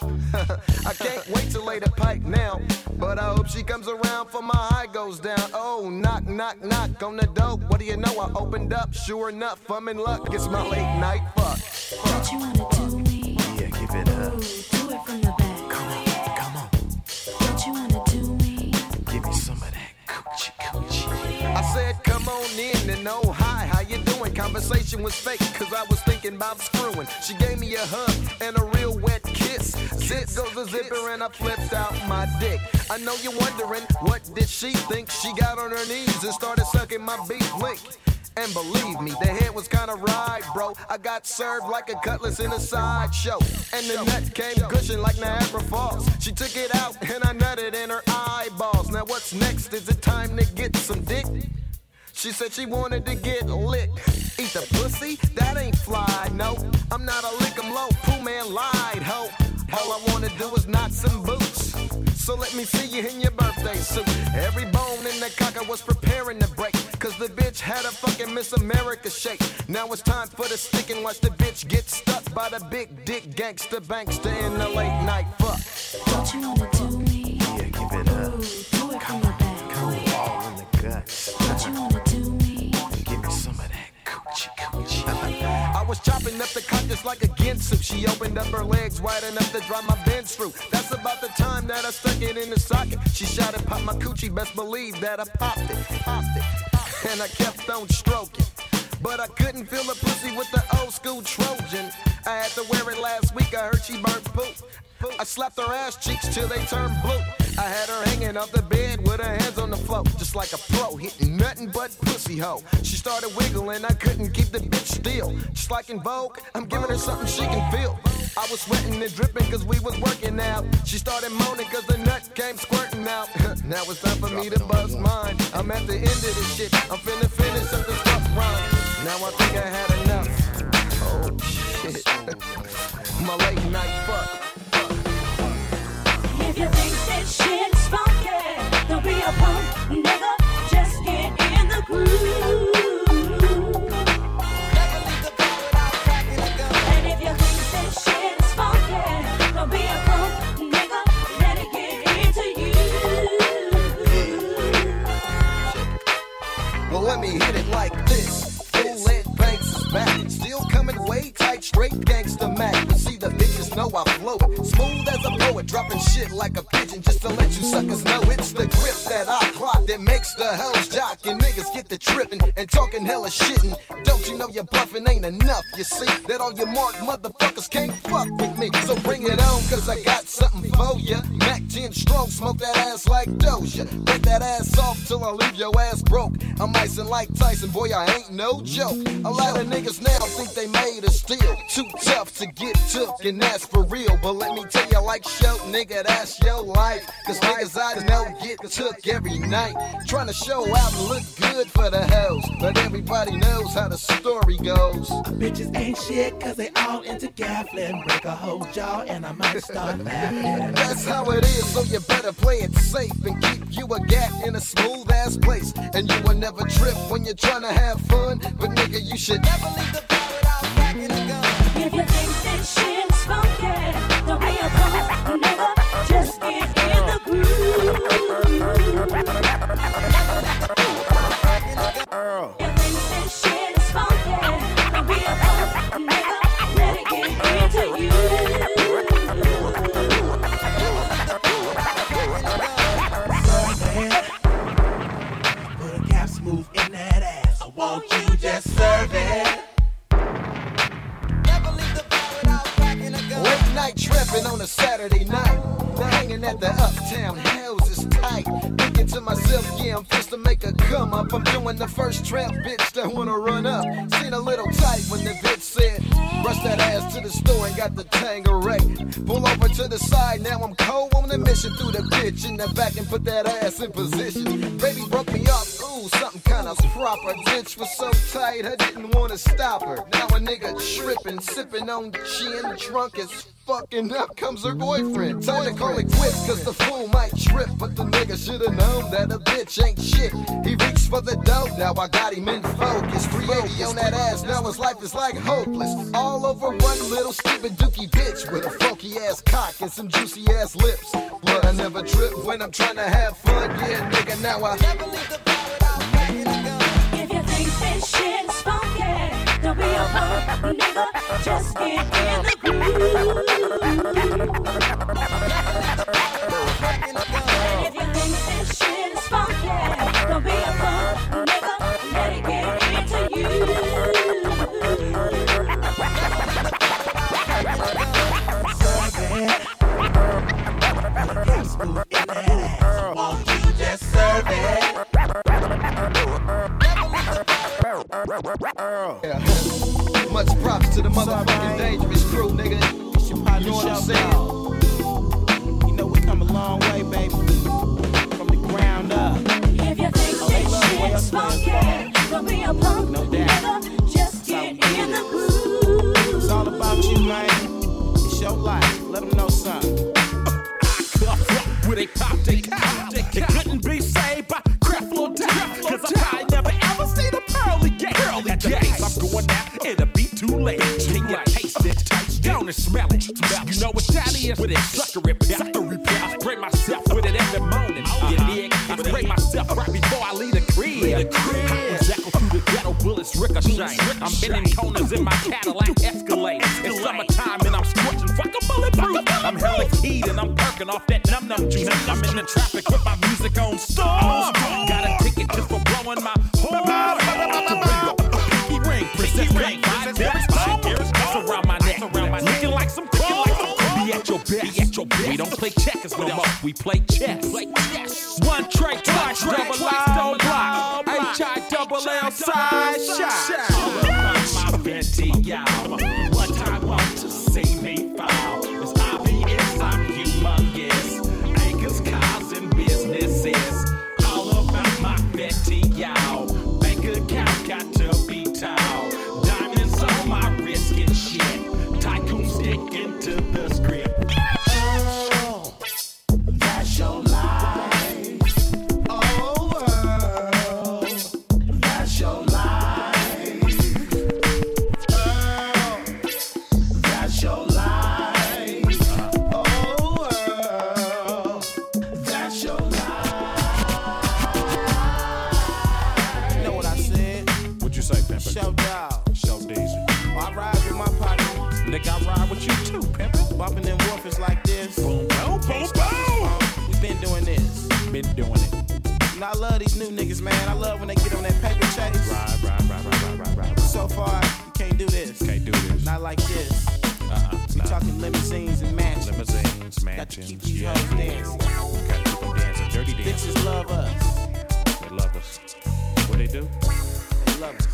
Speaker 10: I can't wait to lay the pipe now, but I hope she comes around for my high goes down. Oh, knock, knock, knock on the door. What do you know? I opened up, sure enough, I'm in luck. It's my late night fuck.
Speaker 6: Don't you wanna do me?
Speaker 10: Yeah, give it up.
Speaker 6: Ooh, do it from the back.
Speaker 10: Come on.
Speaker 6: Don't you wanna do me?
Speaker 10: Give me some of that coochie coochie. I said, come on in and oh hi, how you doing? Conversation was fake, cause I was thinking about screwing. She gave me a hug and a real wet kiss. Zip goes the zipper and I flipped out my dick. I know you're wondering, what did she think? She got on her knees and started sucking my beef link. And believe me, the head was kinda right, bro. I got served like a cutlass in a sideshow. And the nut came gushing like Niagara Falls. She took it out and I nutted in her eyeballs. Now what's next? Is it time to get some dick? She said she wanted to get licked. Eat the pussy? That ain't fly, no. I'm not a lick 'em low, Pooh man lied, ho. All I wanna do is knot some boots. So let me see you in your birthday suit. Every bone in the cocker was preparing to break, cause the bitch had a fucking Miss America shake. Now it's time for the stick and watch the bitch get stuck by the big dick gangster bankster in the late night fuck.
Speaker 6: Don't you wanna do me?
Speaker 10: Yeah, give it up.
Speaker 6: Ooh, do it from the back.
Speaker 10: Come all in the guts.
Speaker 6: Don't you wanna do me?
Speaker 10: Give me some of that coochie coochie. I was chopping up the cock just like a Ginsu. She opened up her legs wide enough to drive my Benz through. That's about the time that I stuck it in the socket. She shouted, pop my coochie, best believe that I popped it. And I kept on stroking, but I couldn't feel the pussy with the old school Trojan. I had to wear it last week, I heard she burnt poop. I slapped her ass cheeks till they turned blue. I had her hanging off the bed with her hands on the floor, just like a pro, hitting nothing but pussy hoe. She started wiggling, I couldn't keep the bitch still. Just like in Vogue, I'm giving her something she can feel. I was sweating and dripping cause we was working out. She started moaning cause the nut came squirting out. Now it's time for me to bust mine. I'm at the end of this shit, I'm finna finish up this fuck rhyme. Now I think I had enough. Oh shit. My late night fuck.
Speaker 6: If you think that shit's funky, don't be a punk, nigga. Just get in the groove. And if you think that shit's funky, don't be a punk, nigga. Let it get into you.
Speaker 10: Well, let me hit it like this. Full Ed Banks is back. Still coming way tight, straight gangsta Mac. But see, the bitches know I flow it. Smooth as a poet, dropping shit like a pigeon just to let you suckers know it's the grip that I clock that makes the hoes jock and niggas get the tripping. and talking hella shitting. Don't you know your bluffing ain't enough? You see that all your mark motherfuckers can't fuck with me. So bring it on, cause I got something for ya. Mac 10 strong, smoke that ass like Doja. Break that ass off till I leave your ass broke. I'm icing like Tyson, boy, I ain't no joke. A lot of niggas now think they made of steel. Too tough to get took, and that's for real. But let me tell you like show, nigga, that's your life. Cause niggas I know get took every night. Trying to show out and look good for the hoes. But everybody knows how the story goes.
Speaker 11: Bitches ain't shit cause they all into gaffling. Break a whole jaw and I might start laughing.
Speaker 10: That's how it is, so you better play it safe and keep you a gap in a smooth ass place. And you will never trip when you're trying to have fun. But nigga, you should never leave the bar without packing a gun.
Speaker 6: If you think this shit's funky, don't be a punk, nigga. Just get in the groove. If you think this shit is funky, don't be a punk, nigga. Let it get into you.
Speaker 11: Put a cap smooth in that ass. So won't you just serve it?
Speaker 10: Late night trapping on a Saturday night. Hanging at the Uptown House is tight. Thinking to myself, yeah, I'm supposed to make a come up. I'm doing the first trap bitch that wanna run up. Seen a little tight when the bitch said, rush that ass to the store and got the Tangeray. Pull over to the side, now I'm cold on the mission. Through the bitch in the back and put that ass in position. Baby broke me off, ooh, something kinda proper. Bitch was so tight, I didn't wanna stop her. Now a nigga tripping, sipping on gin, drunk as fucking up comes her boyfriend. Time to call it quits, cause the fool might trip. But the nigga should've known that a bitch ain't shit. He reached for the dope, now I got him in focus. 380 on that ass, now his life is like hopeless. All over one little stupid dookie bitch with a funky ass cock and some juicy ass lips. But I never trip when I'm trying to have fun. Yeah, nigga, now I never leave the bar without packing a gun.
Speaker 6: If you think this shit is funky, don't be a punk, nigga. Just get in the groove. And if you think this shit is funky, don't be a punk, nigga. Let it get into you.
Speaker 11: Won't you just serve it?
Speaker 10: Yeah. Much props to the motherfucking dangerous crew, nigga. You know what I'm saying?
Speaker 11: You know we come a long way, baby. From the ground up.
Speaker 6: If you think this shit's funky, don't be a punk,
Speaker 11: no doubt.
Speaker 6: nigga. Just get in the groove.
Speaker 11: It's all about you, man. It's your life. Let them know something.
Speaker 8: Where they pop, they cop, they couldn't be saved by Creflo Dollar. Cause I probably never ever seen a pearly gate. At the pace I'm going out, it'll be too late. Can you taste it? Taste down and smell it. You know what that is? With it, sucker it, I spray myself with it every morning. You dig? I spray myself right before I leave the crib. I was echo through the ghetto, bullets ricochet. I'm bending corners in my Cadillac Escalade. It's summertime and I'm scorching, fuck a bulletproof. I'm hella keyed and I'm perking off that num-num juice. I'm in the traffic with my music on storm. Got a ticket just for blowing my horn. Pinky ring, princess ring, 5 years, around my neck, looking like some cool. Be at your best. We don't play checkers no more. We play chess. One tray, twice, double I block. H-I-double-L side shot. All about my Fenty, y'all. What I want to see me fall. It's obvious I'm humongous. Acres, cars, and businesses. All about my Fenty, y'all. Bank account got to be tall. Diamonds on my wrist and shit. Tycoon sticking to the script.
Speaker 11: Oh, that's your life. Oh, that's your life. Oh, that's your life. Oh, that's your life. You know what I said?
Speaker 8: What you say, Pimp?
Speaker 11: Show dog.
Speaker 8: Show Daisy.
Speaker 11: I ride with my partner.
Speaker 8: Nigga, I ride with you too, Pimpin'.
Speaker 11: Bumping them woofers like this.
Speaker 8: Boom, boom, boom, boom.
Speaker 11: We been doing this.
Speaker 8: Been doing it.
Speaker 11: know, I love these new niggas, man. I love when they get on that paper chase.
Speaker 9: Right.
Speaker 11: So far, you can't do this.
Speaker 9: Can't do this.
Speaker 11: Not like this. We talking limousines and mansions.
Speaker 9: Limousines, mansions.
Speaker 11: Got to keep these hoes dancing.
Speaker 9: Gotta keep them dancing. Dirty dancing.
Speaker 11: Bitches love us.
Speaker 9: They love us. What they do?
Speaker 11: They love us.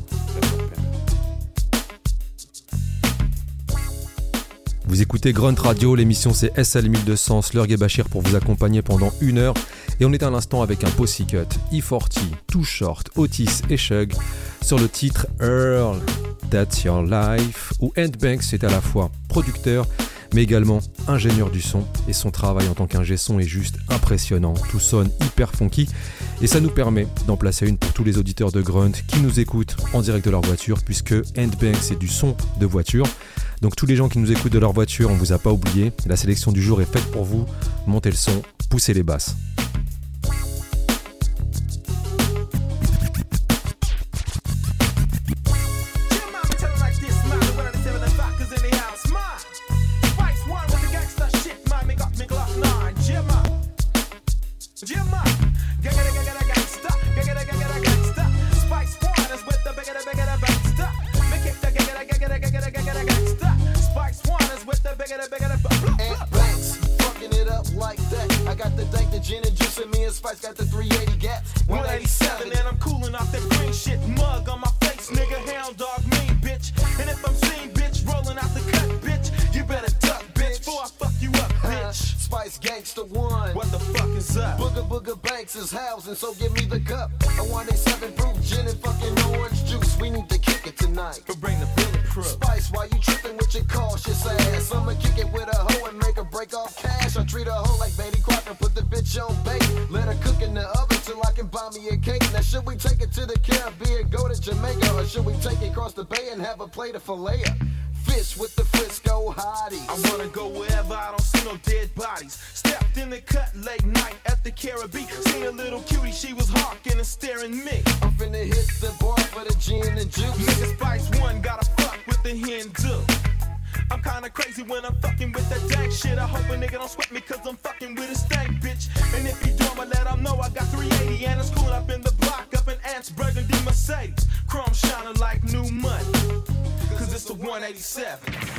Speaker 1: Vous écoutez Grunt Radio, l'émission c'est SL 1200, Slurg et Bachir pour vous accompagner pendant 1 heure. Et on est à l'instant avec un Posse Cut, E40, Too Short, Otis et Shug sur le titre Earl, That's Your Life, où Ant Banks est à la fois producteur mais également ingénieur du son, et son travail en tant qu'ingé son est juste impressionnant. Tout sonne hyper funky et ça nous permet d'en placer une pour tous les auditeurs de Grunt qui nous écoutent en direct de leur voiture, puisque Ant Banks c'est du son de voiture. Donc tous les gens qui nous écoutent de leur voiture, on vous a pas oublié, la sélection du jour est faite pour vous. Montez le son, poussez les basses.
Speaker 10: So give me the cup. I want a 7 proof gin and fucking orange juice. We need to kick it tonight.
Speaker 11: But bring the bulletproof.
Speaker 10: Spice, why you tripping with your cautious ass? I'ma kick it with a hoe and make her break off cash. I treat a hoe like Betty Crocker, put the bitch on bait. Let her cook in the oven till I can buy me a cake. Now should we take it to the Caribbean, go to Jamaica, or should we take it across the bay and have a plate of filet? Fish with the Frisco hotties.
Speaker 11: I wanna go wherever I don't see no dead bodies. Stepped in the cut late night at the Caribbean. Seen a little cutie, she was hawking and staring me.
Speaker 10: I'm finna hit the bar for the gin and juice.
Speaker 11: Nigga Spice One gotta fuck with the Hindu. I'm kinda crazy when I'm fucking with that dank shit. I hope a nigga don't sweat me cause I'm fucking with a stank bitch. And if he do, I'ma let him know I got 380 and it's coolin' up in the block, up in Ants, Burgundy, Mercedes. Chrome shining like new money, cause it's the 187.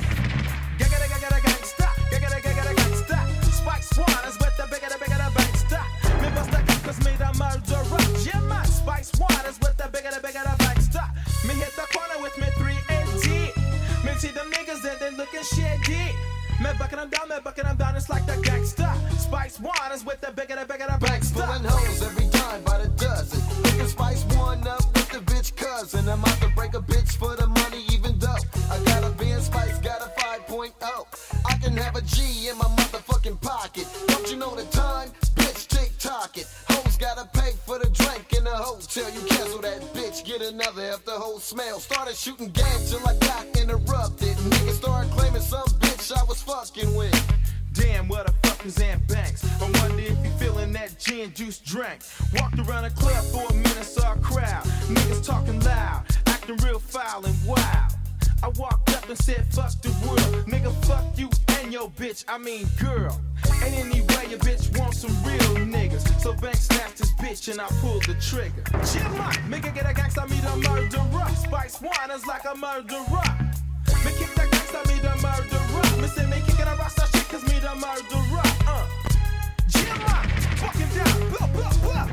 Speaker 11: Gangsta, gangsta. Spike Swan is with the bigger the bangsta. Me bust the gun cause me the murderer. Yeah man, Spike Swan is with the bigger the bangsta. Me hit the corner with me 3AD. Me see them niggas and they looking shady. Me bucking them down, it's like the gangsta. Spice One is with the bigger the
Speaker 10: Banks
Speaker 11: bangsta.
Speaker 10: pulling hoes every time by the dozen. Picking Spice One up with the bitch cousin. I'm out to break a bitch for the money even though I got a Benz Spice, got a 5.0. I can have a G in my motherfucking pocket. Don't you know the time? Bitch, tick-tock it. Hoes gotta pay for the drink in the hotel. You cancel that bitch, get another after whole smell. Started shooting game till I got interrupted. Niggas started claiming some bitch I was fucking with.
Speaker 11: Damn, what the fuck is Ant Banks? I wonder if you feeling that gin juice drink. Walked around the club for a minute, saw a crowd. Niggas talking loud, acting real foul and wild. I walked up and said, fuck the world. Nigga, fuck you and your bitch, I mean girl. And anyway, your bitch wants some real niggas. So Banks snatched his bitch and I pulled the trigger. Chill out, nigga get a gangsta, me the murderer. Spice One is like a murderer. Me kick that gangsta, me the murderer. Me say me kickin' a rasta shit cause me the murderer. Chill out, fucking down, blah, blah, blah.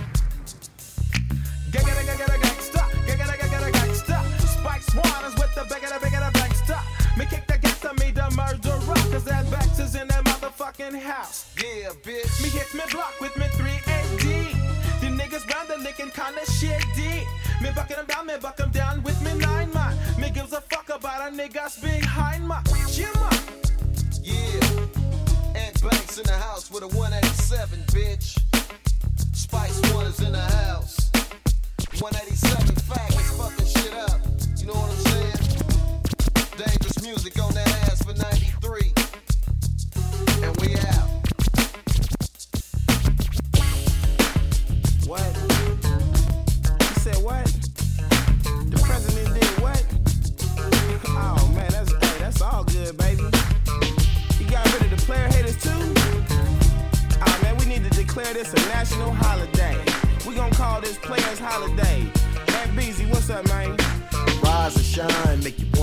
Speaker 11: Gangsta, gangsta. Spice One is with the bigger the bangsta. Me kick the gangsta, me the murderer. Cause that Banks is in that motherfucking house.
Speaker 10: Yeah, bitch.
Speaker 11: Me hit me block with me 3AD. The niggas round the licking kinda shady. Me bucking them down with me 9 man. Me gives a fuck about a niggas behind my Jimma.
Speaker 10: Yeah, Ant Banks in the house with a 187, bitch. Spice One is in the house. 187 faggots fucking shit up. You know what I'm saying? Dangerous music on that ass for 93. And we out.
Speaker 11: What? You said what? The president did what? Oh man, that's all good, baby. You got rid of the player haters too? Oh man, we need to declare this a national holiday.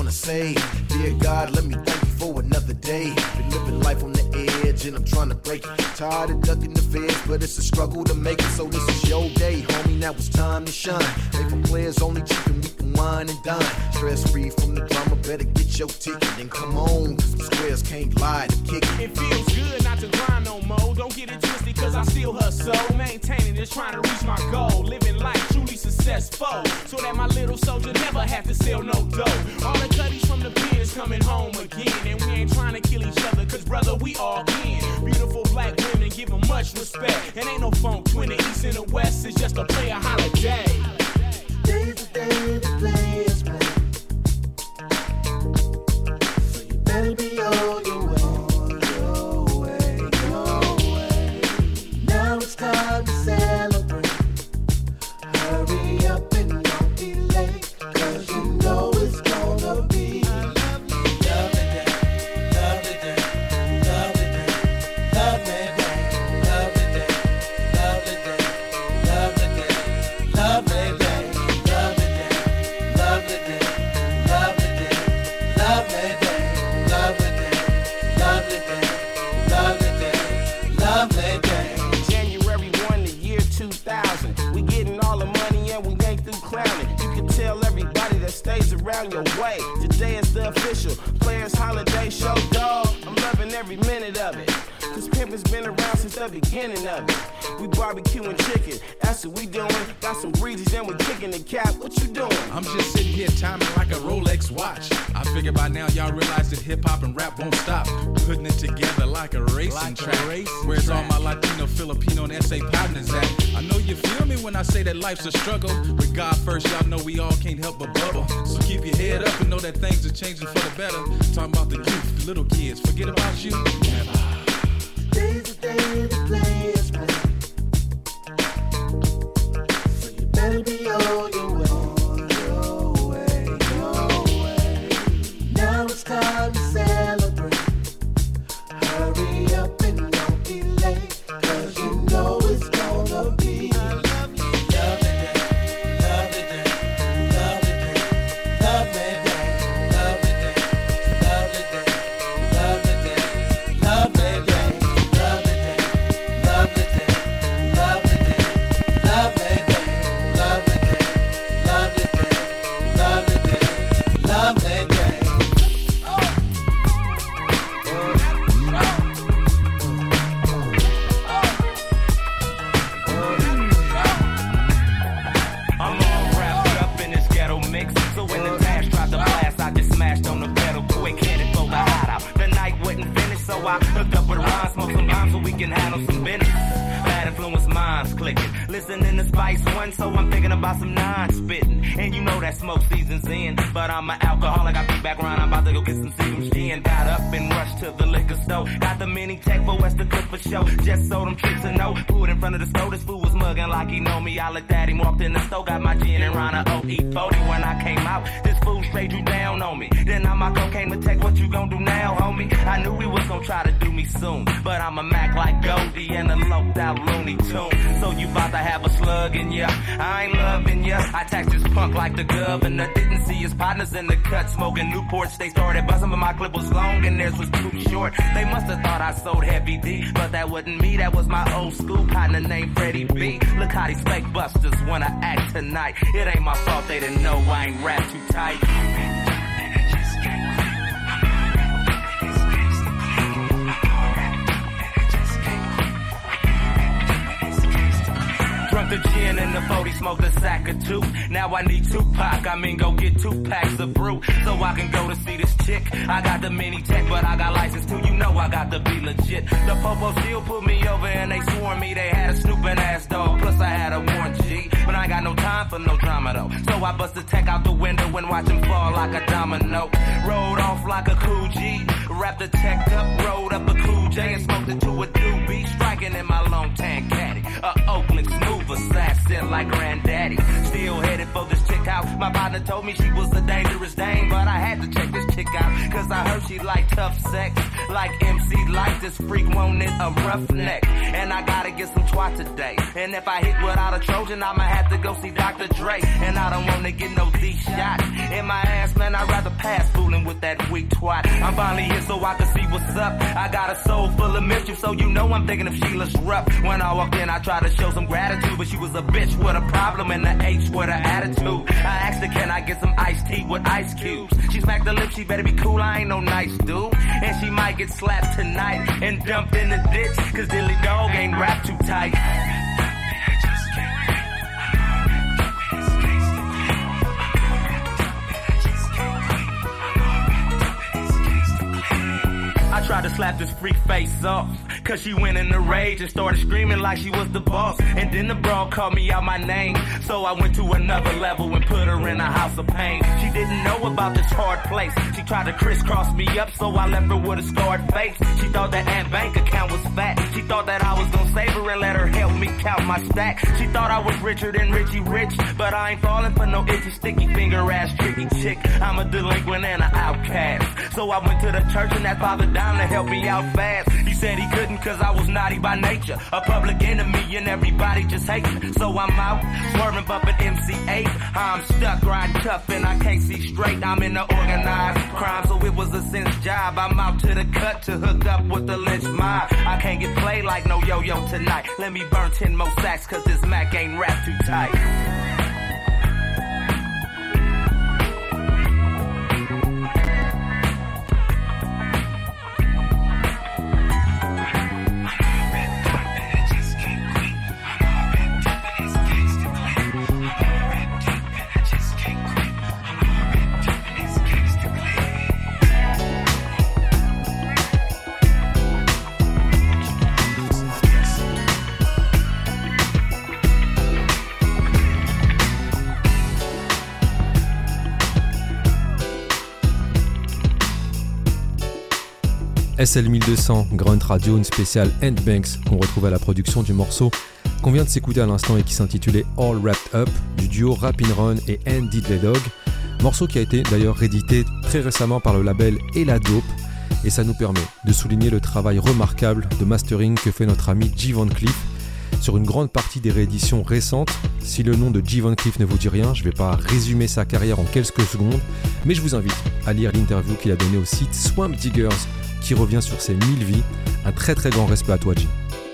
Speaker 10: wanna say, dear God, let me thank you for another day. Been living life on the edge and I'm trying to break it. Tired of ducking the feds, but it's a struggle to make it. So this is your day, homie, now it's time to shine. Made for players only cheap and we can wine and dine. Stress free from the drama, better get your ticket and come on, cause the squares can't lie to kick it.
Speaker 4: It feels good not to grind no more. Don't get it twisted cause I still hustle. Maintaining this, trying to reach my goal. Living life truly successful, so that my little soldier never have to sell no dough. All the cutties from the pins coming home again. And we ain't trying to kill each other cause brother we all in. Beautiful black women give them much respect. And ain't no funk twin, the east and the west. It's just a player holiday.
Speaker 6: Today's the day the players play. So you better be on your way. Now it's time to celebrate. Hurry up and don't be late, cause you know it's gonna be a lovely day. Lovely day, lovely day, lovely day, lovely day, lovely day, lovely day, lovely day, lovely day, lovely day, lovely day, lovely day, lovely day, lovely day, lovely day, lovely day.
Speaker 4: January 1, the year 2000. We getting all the money and we ain't through clowning. You can tell everybody that stays around your way. Today is the official Players Holiday Show, dog. I'm loving every minute of it, cause pimpin's been around since the beginning of it. We barbecuing chicken, that's what we doing. Got some breezes and we kicking the cap. What you doing?
Speaker 9: I'm just sitting here timing like a Rolex watch. I figure by now y'all realize that hip hop and rap won't stop. Putting it together like a racing track. Where's all my Latino, Filipino, and SA partners at? I know you feel me when I say that life's a struggle. With God first, y'all know we all can't help but bubble. So keep your head up and know that things are changing for the better. Talking about the youth, the little kids, forget about you. Never.
Speaker 6: Today's the day the players play. So you better be on your way. Now it's time to celebrate. Hurry up and don't be late, cause you know it's gonna be a lovely day. Lovely day, lovely day, lovely day, lovely day, lovely day, lovely day, lovely day, lovely day, lovely day, lovely day, lovely day, lovely day, lovely day, lovely day.
Speaker 12: I'm all wrapped up in this ghetto mix. So when the dash tried to blast, I just smashed on the pedal quick, headed for the hideout. The night wasn't finished, so I hooked up with Ron, smoked some bombs so we can handle some business. Bad influence minds clicking, listening to Spice One, so I'm thinking about some non-spitting. And you know that smoke season's in, but I'm an alcoholic, I be back around, I'm about to go get some Seagram's gin. Got up and rushed to the liquor store, got the mini tech for West to cook for show. Just so them chicks to know, pulled in front of the store, this fool was mugging like he know me. I looked at him, walked in the store, got my gin and Rana OE40. When I came out, this fool straight drew down on me. Then I'm my cocaine with tech, what you gon' do now, homie? I knew he was gon' try to do me soon, but I'm a Mac like Goldie and a loped out Looney Tune. So you bout to have a slug in ya, I ain't loving ya. I taxed this punk like the governor, didn't see his partners in the cut smoking Newports. They started buzzing, but my clip was long and theirs was too short. They must have thought I sold heavy D, but that wasn't me, that was my old school partner named Freddie B. Look how these fake busters wanna act tonight. It ain't my fault they didn't know I ain't rap too tight. Drunk the gin and the 40, smoked a sack or two. Now I need Tupac, I mean go get 2 packs of brew, so I can go to see this chick. I got the mini tech, but I got license too, you know I got to be legit. The popo still put me over and they swarmed me. They had a snooping ass dog, plus I had a warrant G. But I ain't got no time for no drama though, so I bust the tech out the window and watch him fall like a domino. Rode off like a cool G, wrapped the tech up, rolled up a cool J and smoked it to a doobie, striking in my long tan caddy. Oakland smooth assassin like granddaddy. Still headed for this chick house. My partner told me she was a dangerous dame, but I had to check this chick out, cause I heard she like tough sex. Like MC like this freak wanted a roughneck. And I gotta get some twat today. And if I hit without a Trojan, I'ma have to go see Dr. Dre. And I don't wanna get no D shot in my ass, man, I'd rather pass food
Speaker 18: with that weak twat. I'm finally here so I can see what's up. I got a soul full of mischief, so you know I'm thinking of Sheila's rough. When I walked in, I tried to show some gratitude, but she was a bitch with a problem and the H with an attitude. I asked her, can I get some iced tea with ice cubes? She smacked her lips, she better be cool, I ain't no nice dude. And she might get slapped tonight and dumped in the ditch, cause Dilly Dog ain't wrapped too tight. I tried to slap this freak face off, cause she went in a rage and started screaming like she was the boss. And then the broad called me out my name, so I went to another level and put her in a house of pain. She didn't know about this hard place. She tried to crisscross me up, so I left her with a scarred face. She thought that Aunt Bank account was fat. She thought that I was gonna save her and let her help me count my stack. She thought I was richer than Richie Rich, but I ain't falling for no itchy, sticky finger ass tricky chick. I'm a delinquent and an outcast, so I went to the church and that Father Dime to help me out fast. He said he couldn't cause I was naughty by nature, a public enemy and everybody just hates me. So I'm out, swerving bumping MC8. I'm stuck, riding tough and I can't see straight. I'm in the organized crime, so it was a sense job. I'm out to the cut to hook up with the lynch mob. I can't get played like no yo-yo tonight. Let me burn 10 more sacks cause this Mac ain't wrapped too tight.
Speaker 1: SL1200, Grunt Radio, une spéciale Ant Banks qu'on retrouve à la production du morceau qu'on vient de s'écouter à l'instant et qui s'intitulait All Wrapped Up du duo Rappin' Run et Diddley Dog. Morceau qui a été d'ailleurs réédité très récemment par le label Ella Dope, et ça nous permet de souligner le travail remarquable de mastering que fait notre ami G. Van Cleef sur une grande partie des rééditions récentes. Si le nom de G. Van Cleef ne vous dit rien, je ne vais pas résumer sa carrière en quelques secondes, mais je vous invite à lire l'interview qu'il a donnée au site Swamp Diggers qui revient sur ses 1000 vies. Un très très grand respect à toi, G.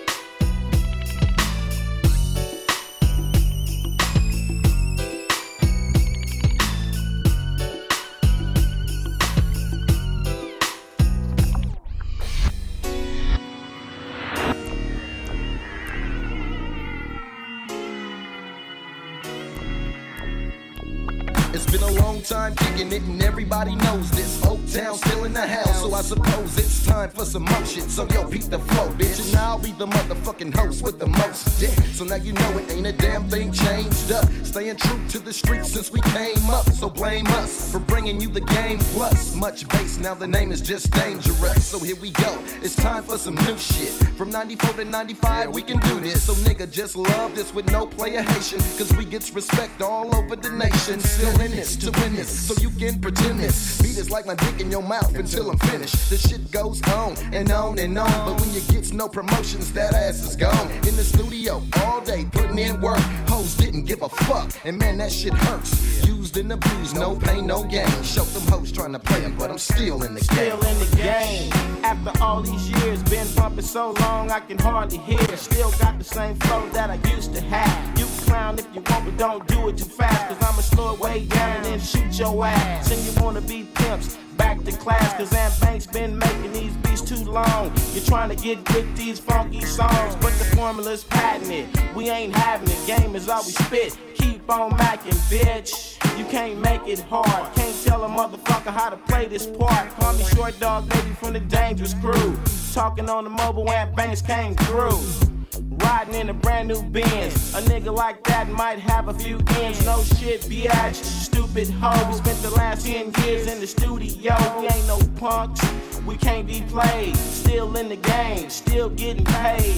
Speaker 10: It's been a long time kicking it and everybody knows this. Oak Town still in the house, so I suppose it's time for some motion. So yo, beat the flow, bitch, and I'll be the motherfucking host with the most dick. So now you know it ain't a damn thing changed up. Staying true to the streets since we came up. So blame us for bringing you the game plus much bass. Now the name is just dangerous. So here we go. It's time for some new shit. From 94 to 95, we can do this. So nigga, just love this with no player Haitian, cause we gets respect all over the nation. Still in this to win this, so you can pretend this beat is like my dick in your mouth until I'm finished. The shit goes on and on and on, but when you get no promotions, that ass is gone. In the studio all day putting in work, hoes didn't give a fuck, and man that shit hurts. Used and abused, no pain, no gain. Show them hoes trying to play them, but I'm still in the game.
Speaker 4: Still in the game. After all these years, been bumping so long I can hardly hear. Still got the same flow that I used to have. You can clown if you want, but don't do it too fast, cause I'ma slow it way down and then shoot your ass. And you wanna be pimps, back to class, cause Aunt Banks been making these beats too long. You're trying to get with these funky songs, but the formula's patented. We ain't having it, game is all we spit. Keep on macking, bitch. You can't make it hard. Can't tell a motherfucker how to play this part. Call me Short Dog, baby, from the Dangerous Crew. Talking on the mobile, Aunt Banks came through. Riding in a brand new Benz. A nigga like that might have a few ends. No shit, biatch, stupid hoe. We spent the last 10 years in the studio. We ain't no punks, we can't be played. Still in the game, still getting paid.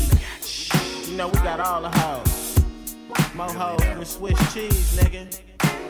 Speaker 4: You know we got all the hoes. More hoes than Swiss cheese, nigga.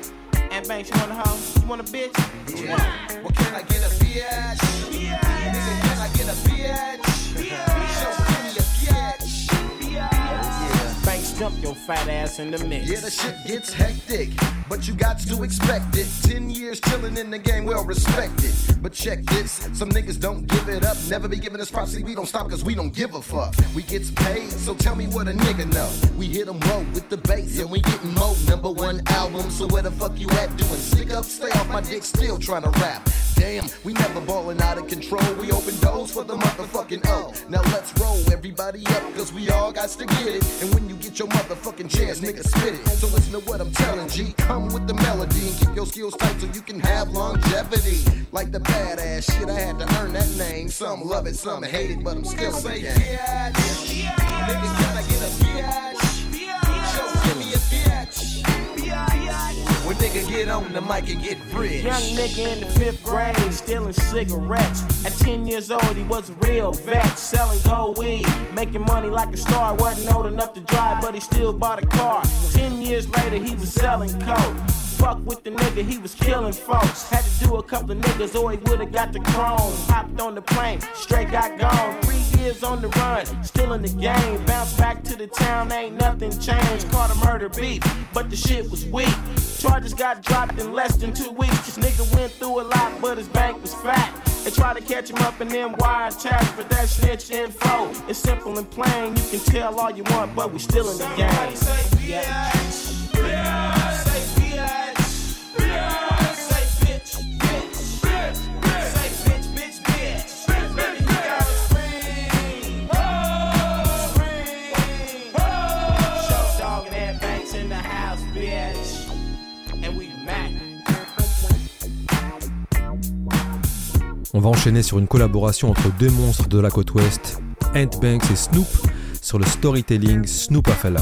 Speaker 4: Aunt Banks, you want a hoe? You want a bitch?
Speaker 10: Yeah. Well, can I get a biatch? Nigga, can I get a biatch? Show me a biatch.
Speaker 4: Banks jump your fat ass in the mix.
Speaker 10: Yeah, the shit gets hectic, but you got to expect it. 10 years chilling in the game, well respected. But check this, some niggas don't give it up. Never be giving us props, see we don't stop cause we don't give a fuck. We gets paid, so tell me what a nigga know. We hit them low with the bass and we getting mo. #1 album, so where the fuck you at doing? Stick up, stay off my dick, still trying to rap. Damn, we never ballin' out of control. We open doors for the motherfucking O. Now let's roll everybody up, cause we all got to get it. And when you get your motherfucking chance, nigga, spit it. So listen to what I'm telling G. Come with the melody and keep your skills tight so you can have longevity. Like the badass shit, I had to earn that name. Some love it, some hate it, but I'm still saying yeah. Niggas gotta get a biatch. So give me a biatch. When nigga get on the mic and get rich.
Speaker 4: Young nigga in the 5th grade, stealing cigarettes. At 10 years old, he was a real vet, selling gold weed, making money like a star. Wasn't old enough to drive, but he still bought a car. 10 years later, he was selling coke. Fuck with the nigga, he was killing folks. Had to do a couple of niggas or he would've got the chrome. Hopped on the plane, straight got gone. 3 years on the run, still in the game. Bounced back to the town, ain't nothing changed. Caught a murder beat, but the shit was weak. Charges got dropped in less than 2 weeks. Nigga went through a lot, but his bank was fat. They try to catch him up in them wire chats, but that snitch info is simple and plain. You can tell all you want, but we still in the game. Yeah.
Speaker 1: On va enchaîner sur une collaboration entre deux monstres de la côte ouest, Ant Banks et Snoop, sur le storytelling Snoopafella.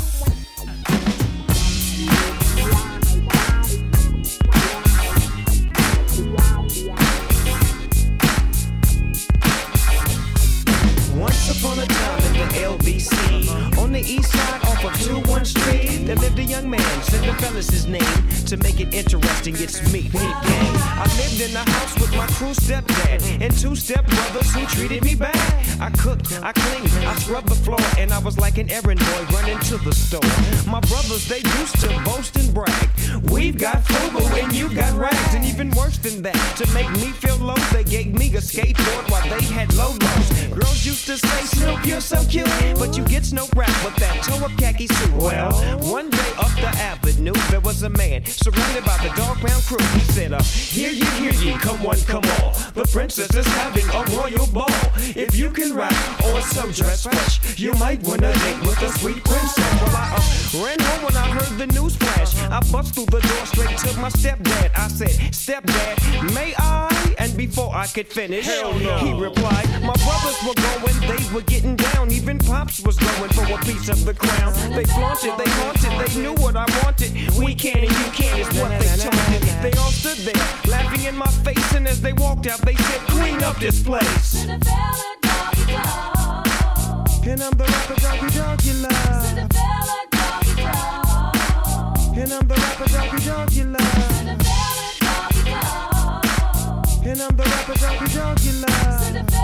Speaker 19: Once upon a time in the LBC, on the east side off of 21 Street, there lived a young man, Cinderella's his name. To make it interesting, it's me, Pete Gang. I lived in the house with my crew stepdad and 2 stepbrothers who treated me bad. I cooked, I cleaned, I scrubbed the floor, and I was like an errand boy running to the store. My brothers, they used to boast and brag. We've got frugal and you got rags, and even worse than that, to make me feel low, they gave me a skateboard while they had low lows. Girls used to say, Snoop, you're so cute, but you get no rap with that toe-up khaki suit. Well, one day up the avenue, there was a man surrounded by the dog pound crew. He said, hear ye, come one, come all. The princess is having a royal ball. If you can rap or so dress fresh, you might win a date with a sweet princess. Well, I ran home when I heard the news flash. I bust through the door straight to my stepdad. I said, Stepdad, may I? And before I could finish, hell no, he replied, my brothers were going, they were getting down. Even Pops was going for a piece of the crown. They flaunted, they haunted, they knew what I wanted. We can and you can is what they taunted. They all stood there, laughing in my face, and as they walked out, they said, clean up this place. And I'm the rapper doggy dog you love. And I'm the rapper doggy dog you love. And I'm the rapper doggy dog you love.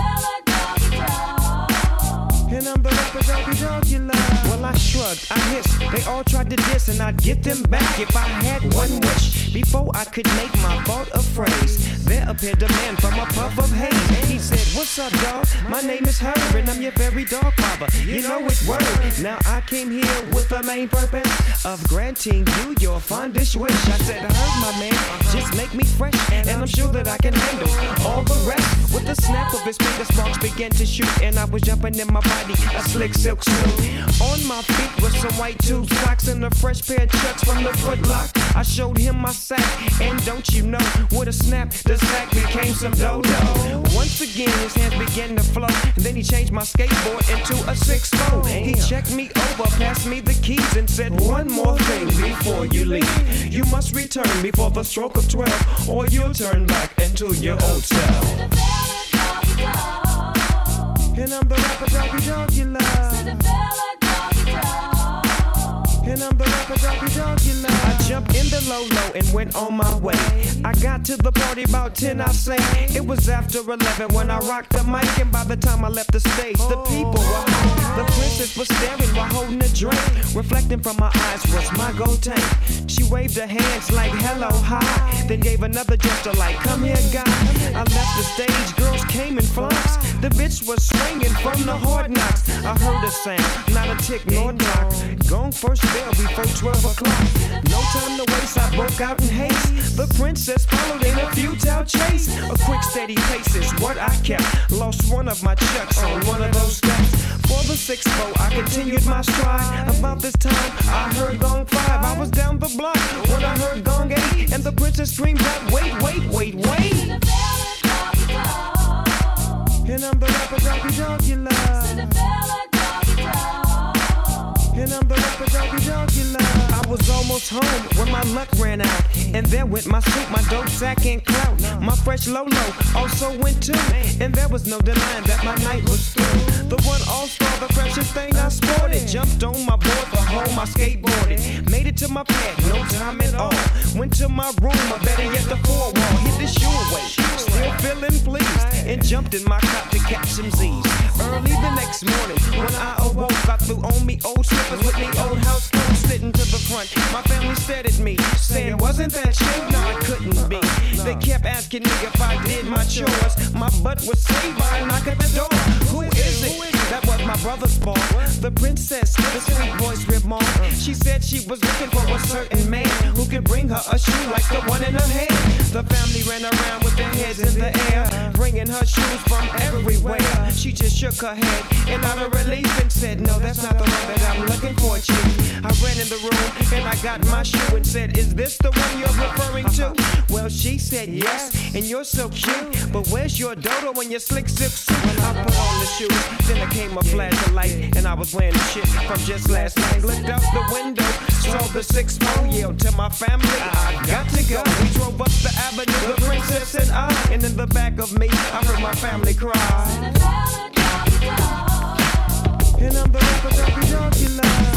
Speaker 19: And I'm the rapper doggy dog you love. Well, I shrugged, I hissed. They all tried to diss, and I'd get them back if I had one wish. Before I could make my thought a phrase, there appeared a man from a puff of haze. He said, what's up, dog? My name is Herb, and I'm your very dog father. You know it's word. Now I came here with the main purpose of granting you your fondest wish. I said, Herb, my man, just make me fresh, and I'm sure that I can handle all the rest. With the snap of his finger, sparks began to shoot, and I was jumping in my body, a slick silk suit. On my feet was some white tube socks and a fresh pair of chucks from the Foot Lock. I showed him my sack, and don't you know, with a snap, the sack became some dodo. Once again, his hands began to flow, and then he changed my skateboard into a 6-4. He checked me over, passed me the keys, and said, one more thing before you leave. You must return before the stroke of 12, or you'll turn back into your old self. And I'm the rapper doggy dog you love. And And I'm the rapper dog you love. I jumped in the low and went on my way. I got to the party about 10, I say. It was after 11 when I rocked the mic, and by the time I left the stage, the people were high. The princess was staring while holding a drink. Reflecting from my eyes was my gold tank. She waved her hands like hello, hi, then gave another gesture like come here, guy. I left the stage, girls came in flocks. The bitch was swinging from the hard knocks. I heard a sound, not a tick nor a knock. Gone first bell before 12 o'clock. No time to waste, I broke out in haste. The princess followed in a futile chase. A quick steady pace is what I kept. Lost one of my chucks on one of those steps. For the 6-4, I continued my stride. About this time, I heard gong 5. I was down the block when I heard gong 8. And the princess screamed out, wait. And I'm the rapper dog you love. And I'm the rapper dog you love. I was almost home when my luck ran out. And there went my suit, my dope sack and clout. My fresh Lolo also went too. And there was no denying that my night was through. The one all-star, the freshest thing I sported. Jumped on my board for home, I skateboarded. Made it to my pad, no time at all. Went to my room, or better yet the 4-wall. Hit the shoe away, still feeling pleased. And jumped in my cop to catch some Z's. Early the next morning, when I awoke, I threw on me old slippers with me old house clothes sitting to the front. My family stared at me, saying, wasn't that you? No, I couldn't be. They kept asking me if I did my chores. My butt was saved by a knock at the door. Who is it? That was my brother's fault. The princess, the sweet voice remarked. She said she was looking for a certain man who could bring her a shoe like the one in her hand. The family ran around with their heads in the air, bringing her shoes from everywhere. She just shook her head and out of relief and said, no, that's not the one that I'm looking for, chief. I ran in the room and I got my shoe and said, is this the one you're referring to? Well, she said yes, and you're so cute, but where's your dodo and your slick zip suit? I put on the shoes, then there came a flash of light, and I was wearing the shit from just last night. Looked out the window, saw the 6-4, yelled to my family, I got to go. We drove up the avenue, the princess and I, and in the back of me, I heard my family cry. And I'm the rapper dog you love.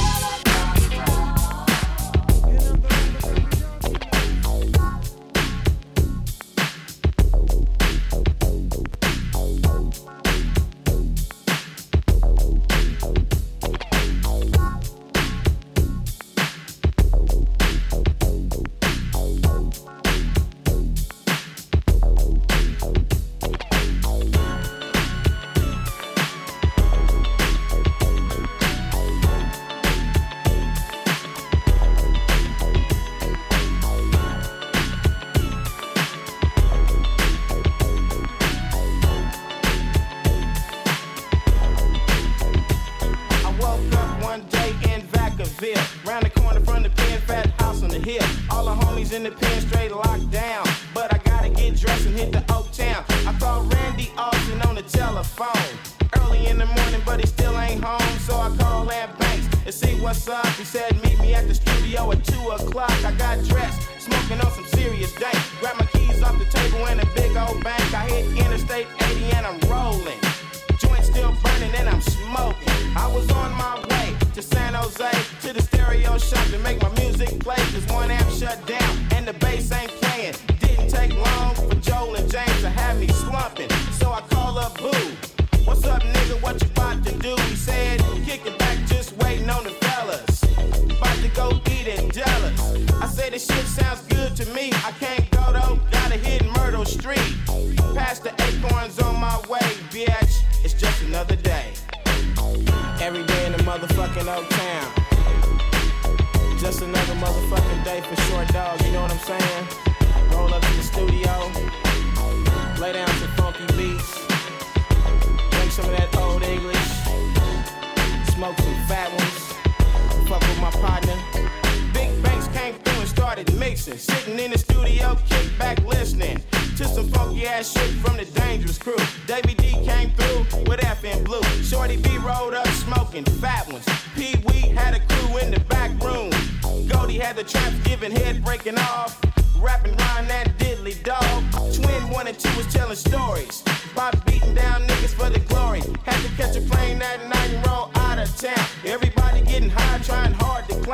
Speaker 4: Round the corner from the pen, fat house on the hill. All the homies in the pen straight locked down. But I gotta get dressed and hit the Oak Town. I called Randy Austin on the telephone early in the morning, but he still ain't home. So I called Ant Banks and see what's up. He said meet me at the studio at 2 o'clock. I got dressed, smoking on some serious dank. Grabbed my keys off the table in a big old bank. I hit Interstate 80 and I'm rolling. Joint still burning and I'm smoking. I was on my way to San Jose, to the stereo shop to make my music play. Cause one amp shut down and the bass ain't playing. Didn't take long for Joel and James to have me slumping. So I call up Boo. What's up, nigga? What you about to do? He said, kick it back, just waiting on the fellas. About to go eat at Jealous. I said, this shit sounds good to me. I can't go though, gotta hit Myrtle Street. Past the Acorns on my way, bitch. It's just another day. Every day in the motherfucking Oak Town. Just another motherfucking day for short dog, you know what I'm saying? Roll up to the studio, lay down some funky beats, drink some of that old English, smoke some fat ones, fuck with my partner. Big Banks came through and started mixing, sitting in the studio, kick back listening to some funky ass shit from the Dangerous Crew. Davey D came through with FN Blue. Shorty B rolled up smoking fat ones. Pee Wee had a crew in the back room. Goldie had the traps giving head breaking off. Rapping Ryan that diddly dog. Twin 1 and 2 was telling stories about beating down niggas for the glory. Had to catch a plane that night and roll out of town. Everybody getting high, trying hard to climb.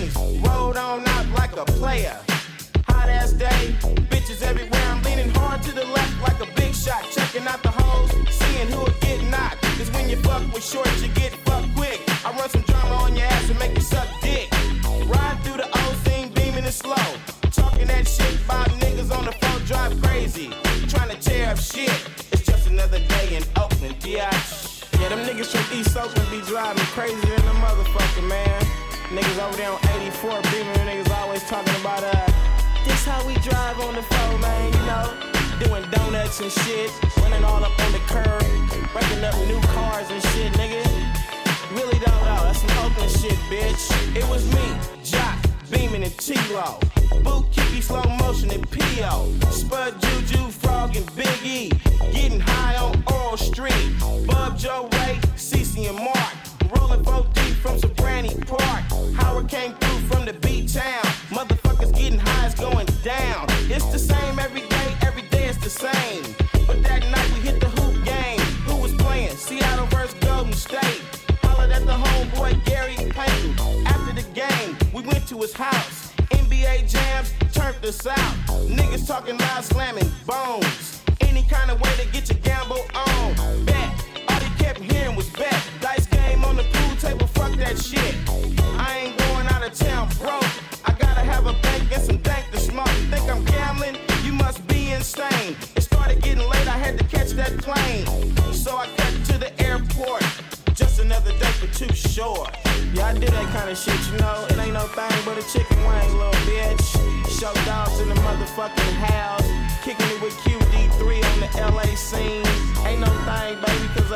Speaker 4: things. Rolled on out like a player. Hot ass day, bitches everywhere. I'm leaning hard to the left like a big shot. Checking out the hoes, seeing who'll get knocked. Cause when you fuck with shorts, you get fucked quick. I run some drama on your ass and make you suck dick. Ride through the old scene, beaming it slow. Talking that shit about niggas on the phone, drive crazy. Trying to tear up shit. It's just another day in Oakland, biatch. Yeah, them niggas from East Oakland be driving crazy than the motherfucker, man. Niggas over there on 84 beaming, niggas always talking about this how we drive on the phone, man, you know. Doing donuts and shit, running all up on the curb, breaking up new cars and shit, nigga. Really don't know, that's some Oakland shit, bitch. It was me, Jock, Beamin' and T-Lo, Boot Kiki, Slow Motion and P.O., Spud, Juju, Frog and Big E, getting high on Oral Street, Bub, Joe, Ray, Cece and Mark, rolling 4 deep from Sobrani Park, Howard came through from the B-Town, motherfuckers getting high, it's going down, it's the same every day it's the same, but that night we hit the hoop game, who was playing, Seattle vs. Golden State, hollered at the homeboy Gary Payton, after the game, we went to his house, NBA jams turned us out, niggas talking loud, slamming bones, any kind of way to get your gamble on, bet, all they kept hearing was bet, dice game on the pool table, fuck that shit, I ain't going out of town broke, I gotta have a bank and some dank to smoke, you think I'm gambling? You must be insane, it started getting late, I had to catch that plane, so I cut to the airport, just another day for Too Short. Yeah, I did that kind of shit, you know. It ain't no thing but a chicken wing, little bitch. Show dogs in the motherfucking house. Kicking it with QD3 on the LA scene. Ain't no thing, baby, cause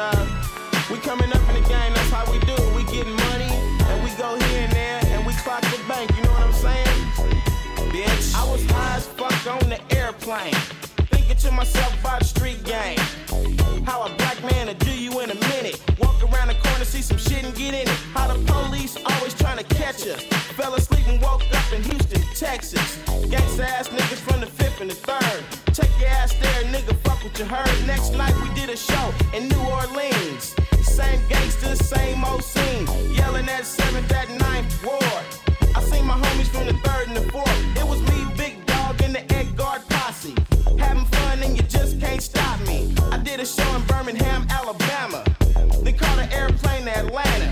Speaker 4: we coming up in the game, that's how we do it. We getting money, and we go here and there, and we clock the bank, you know what I'm saying? Bitch, I was high as fuck on the airplane. Thinking to myself about street game. How a black man will do you in a minute. Walk around the corner, see some shit and get in it. How the police always trying to catch us. Fell asleep and woke up in Houston, Texas. Gangsta ass niggas from the 5th and the 3rd. Take your ass there, nigga, fuck what you heard. Next night we did a show in New Orleans. Same gangsters, same old scene. Yelling at 7th, at 9th ward. I seen my homies from the 3rd and the 4th. It was me, Big Dog, and the Edgard posse. Having fun and you just can't stop me. I did a show in Birmingham, Alabama. Then caught an airplane to Atlanta.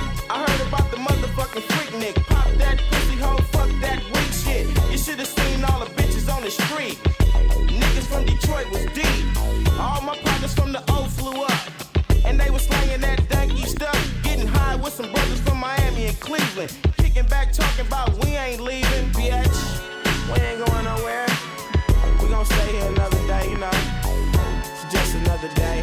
Speaker 4: I heard about the motherfucking freak Nick. Pop that pussy hoe, fuck that weak shit. You should've seen all the bitches on the street. Niggas from Detroit was deep. All my partners from the O flew up. And they was slanging that danky stuff. Getting high with some brothers from Miami and Cleveland. Kicking back talking about we ain't leaving, bitch. We ain't going nowhere. We gon' stay here another day, you know. It's just another day.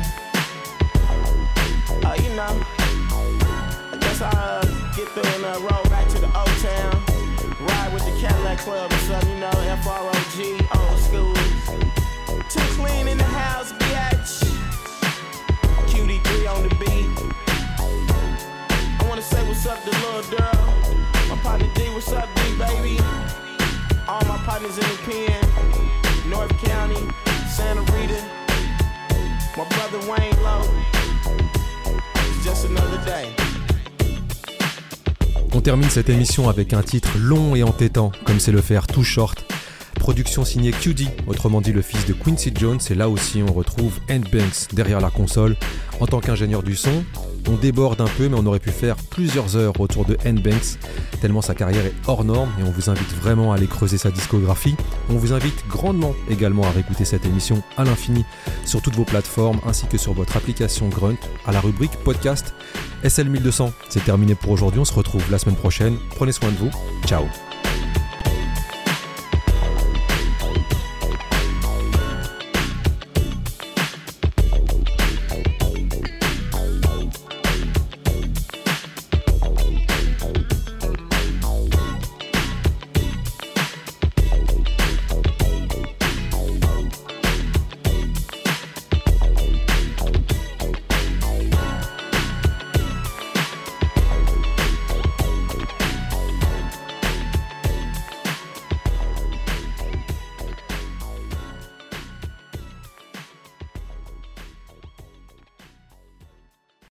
Speaker 4: You know, I guess I'll get through and roll back to the old town. Ride with the Cadillac Club or something, you know, FROG, old school. Too clean in the house, bitch. QD3 on the beat. I wanna say what's up to little girl. My partner D, what's up, D, baby? All my partners in the pen. North County, Santa Rita, my brother Wayne Lowe. It's just another day.
Speaker 1: On termine cette émission avec un titre long et entêtant, comme c'est le faire Too Short. Production signée QD, autrement dit le fils de Quincy Jones, et là aussi on retrouve Ant Banks derrière la console. En tant qu'ingénieur du son, on déborde un peu, mais on aurait pu faire plusieurs heures autour de Ant Banks, tellement sa carrière est hors norme, et on vous invite vraiment à aller creuser sa discographie. On vous invite grandement également à réécouter cette émission à l'infini sur toutes vos plateformes, ainsi que sur votre application Grunt, à la rubrique podcast. SL1200, c'est terminé pour aujourd'hui, on se retrouve la semaine prochaine, prenez soin de vous, ciao.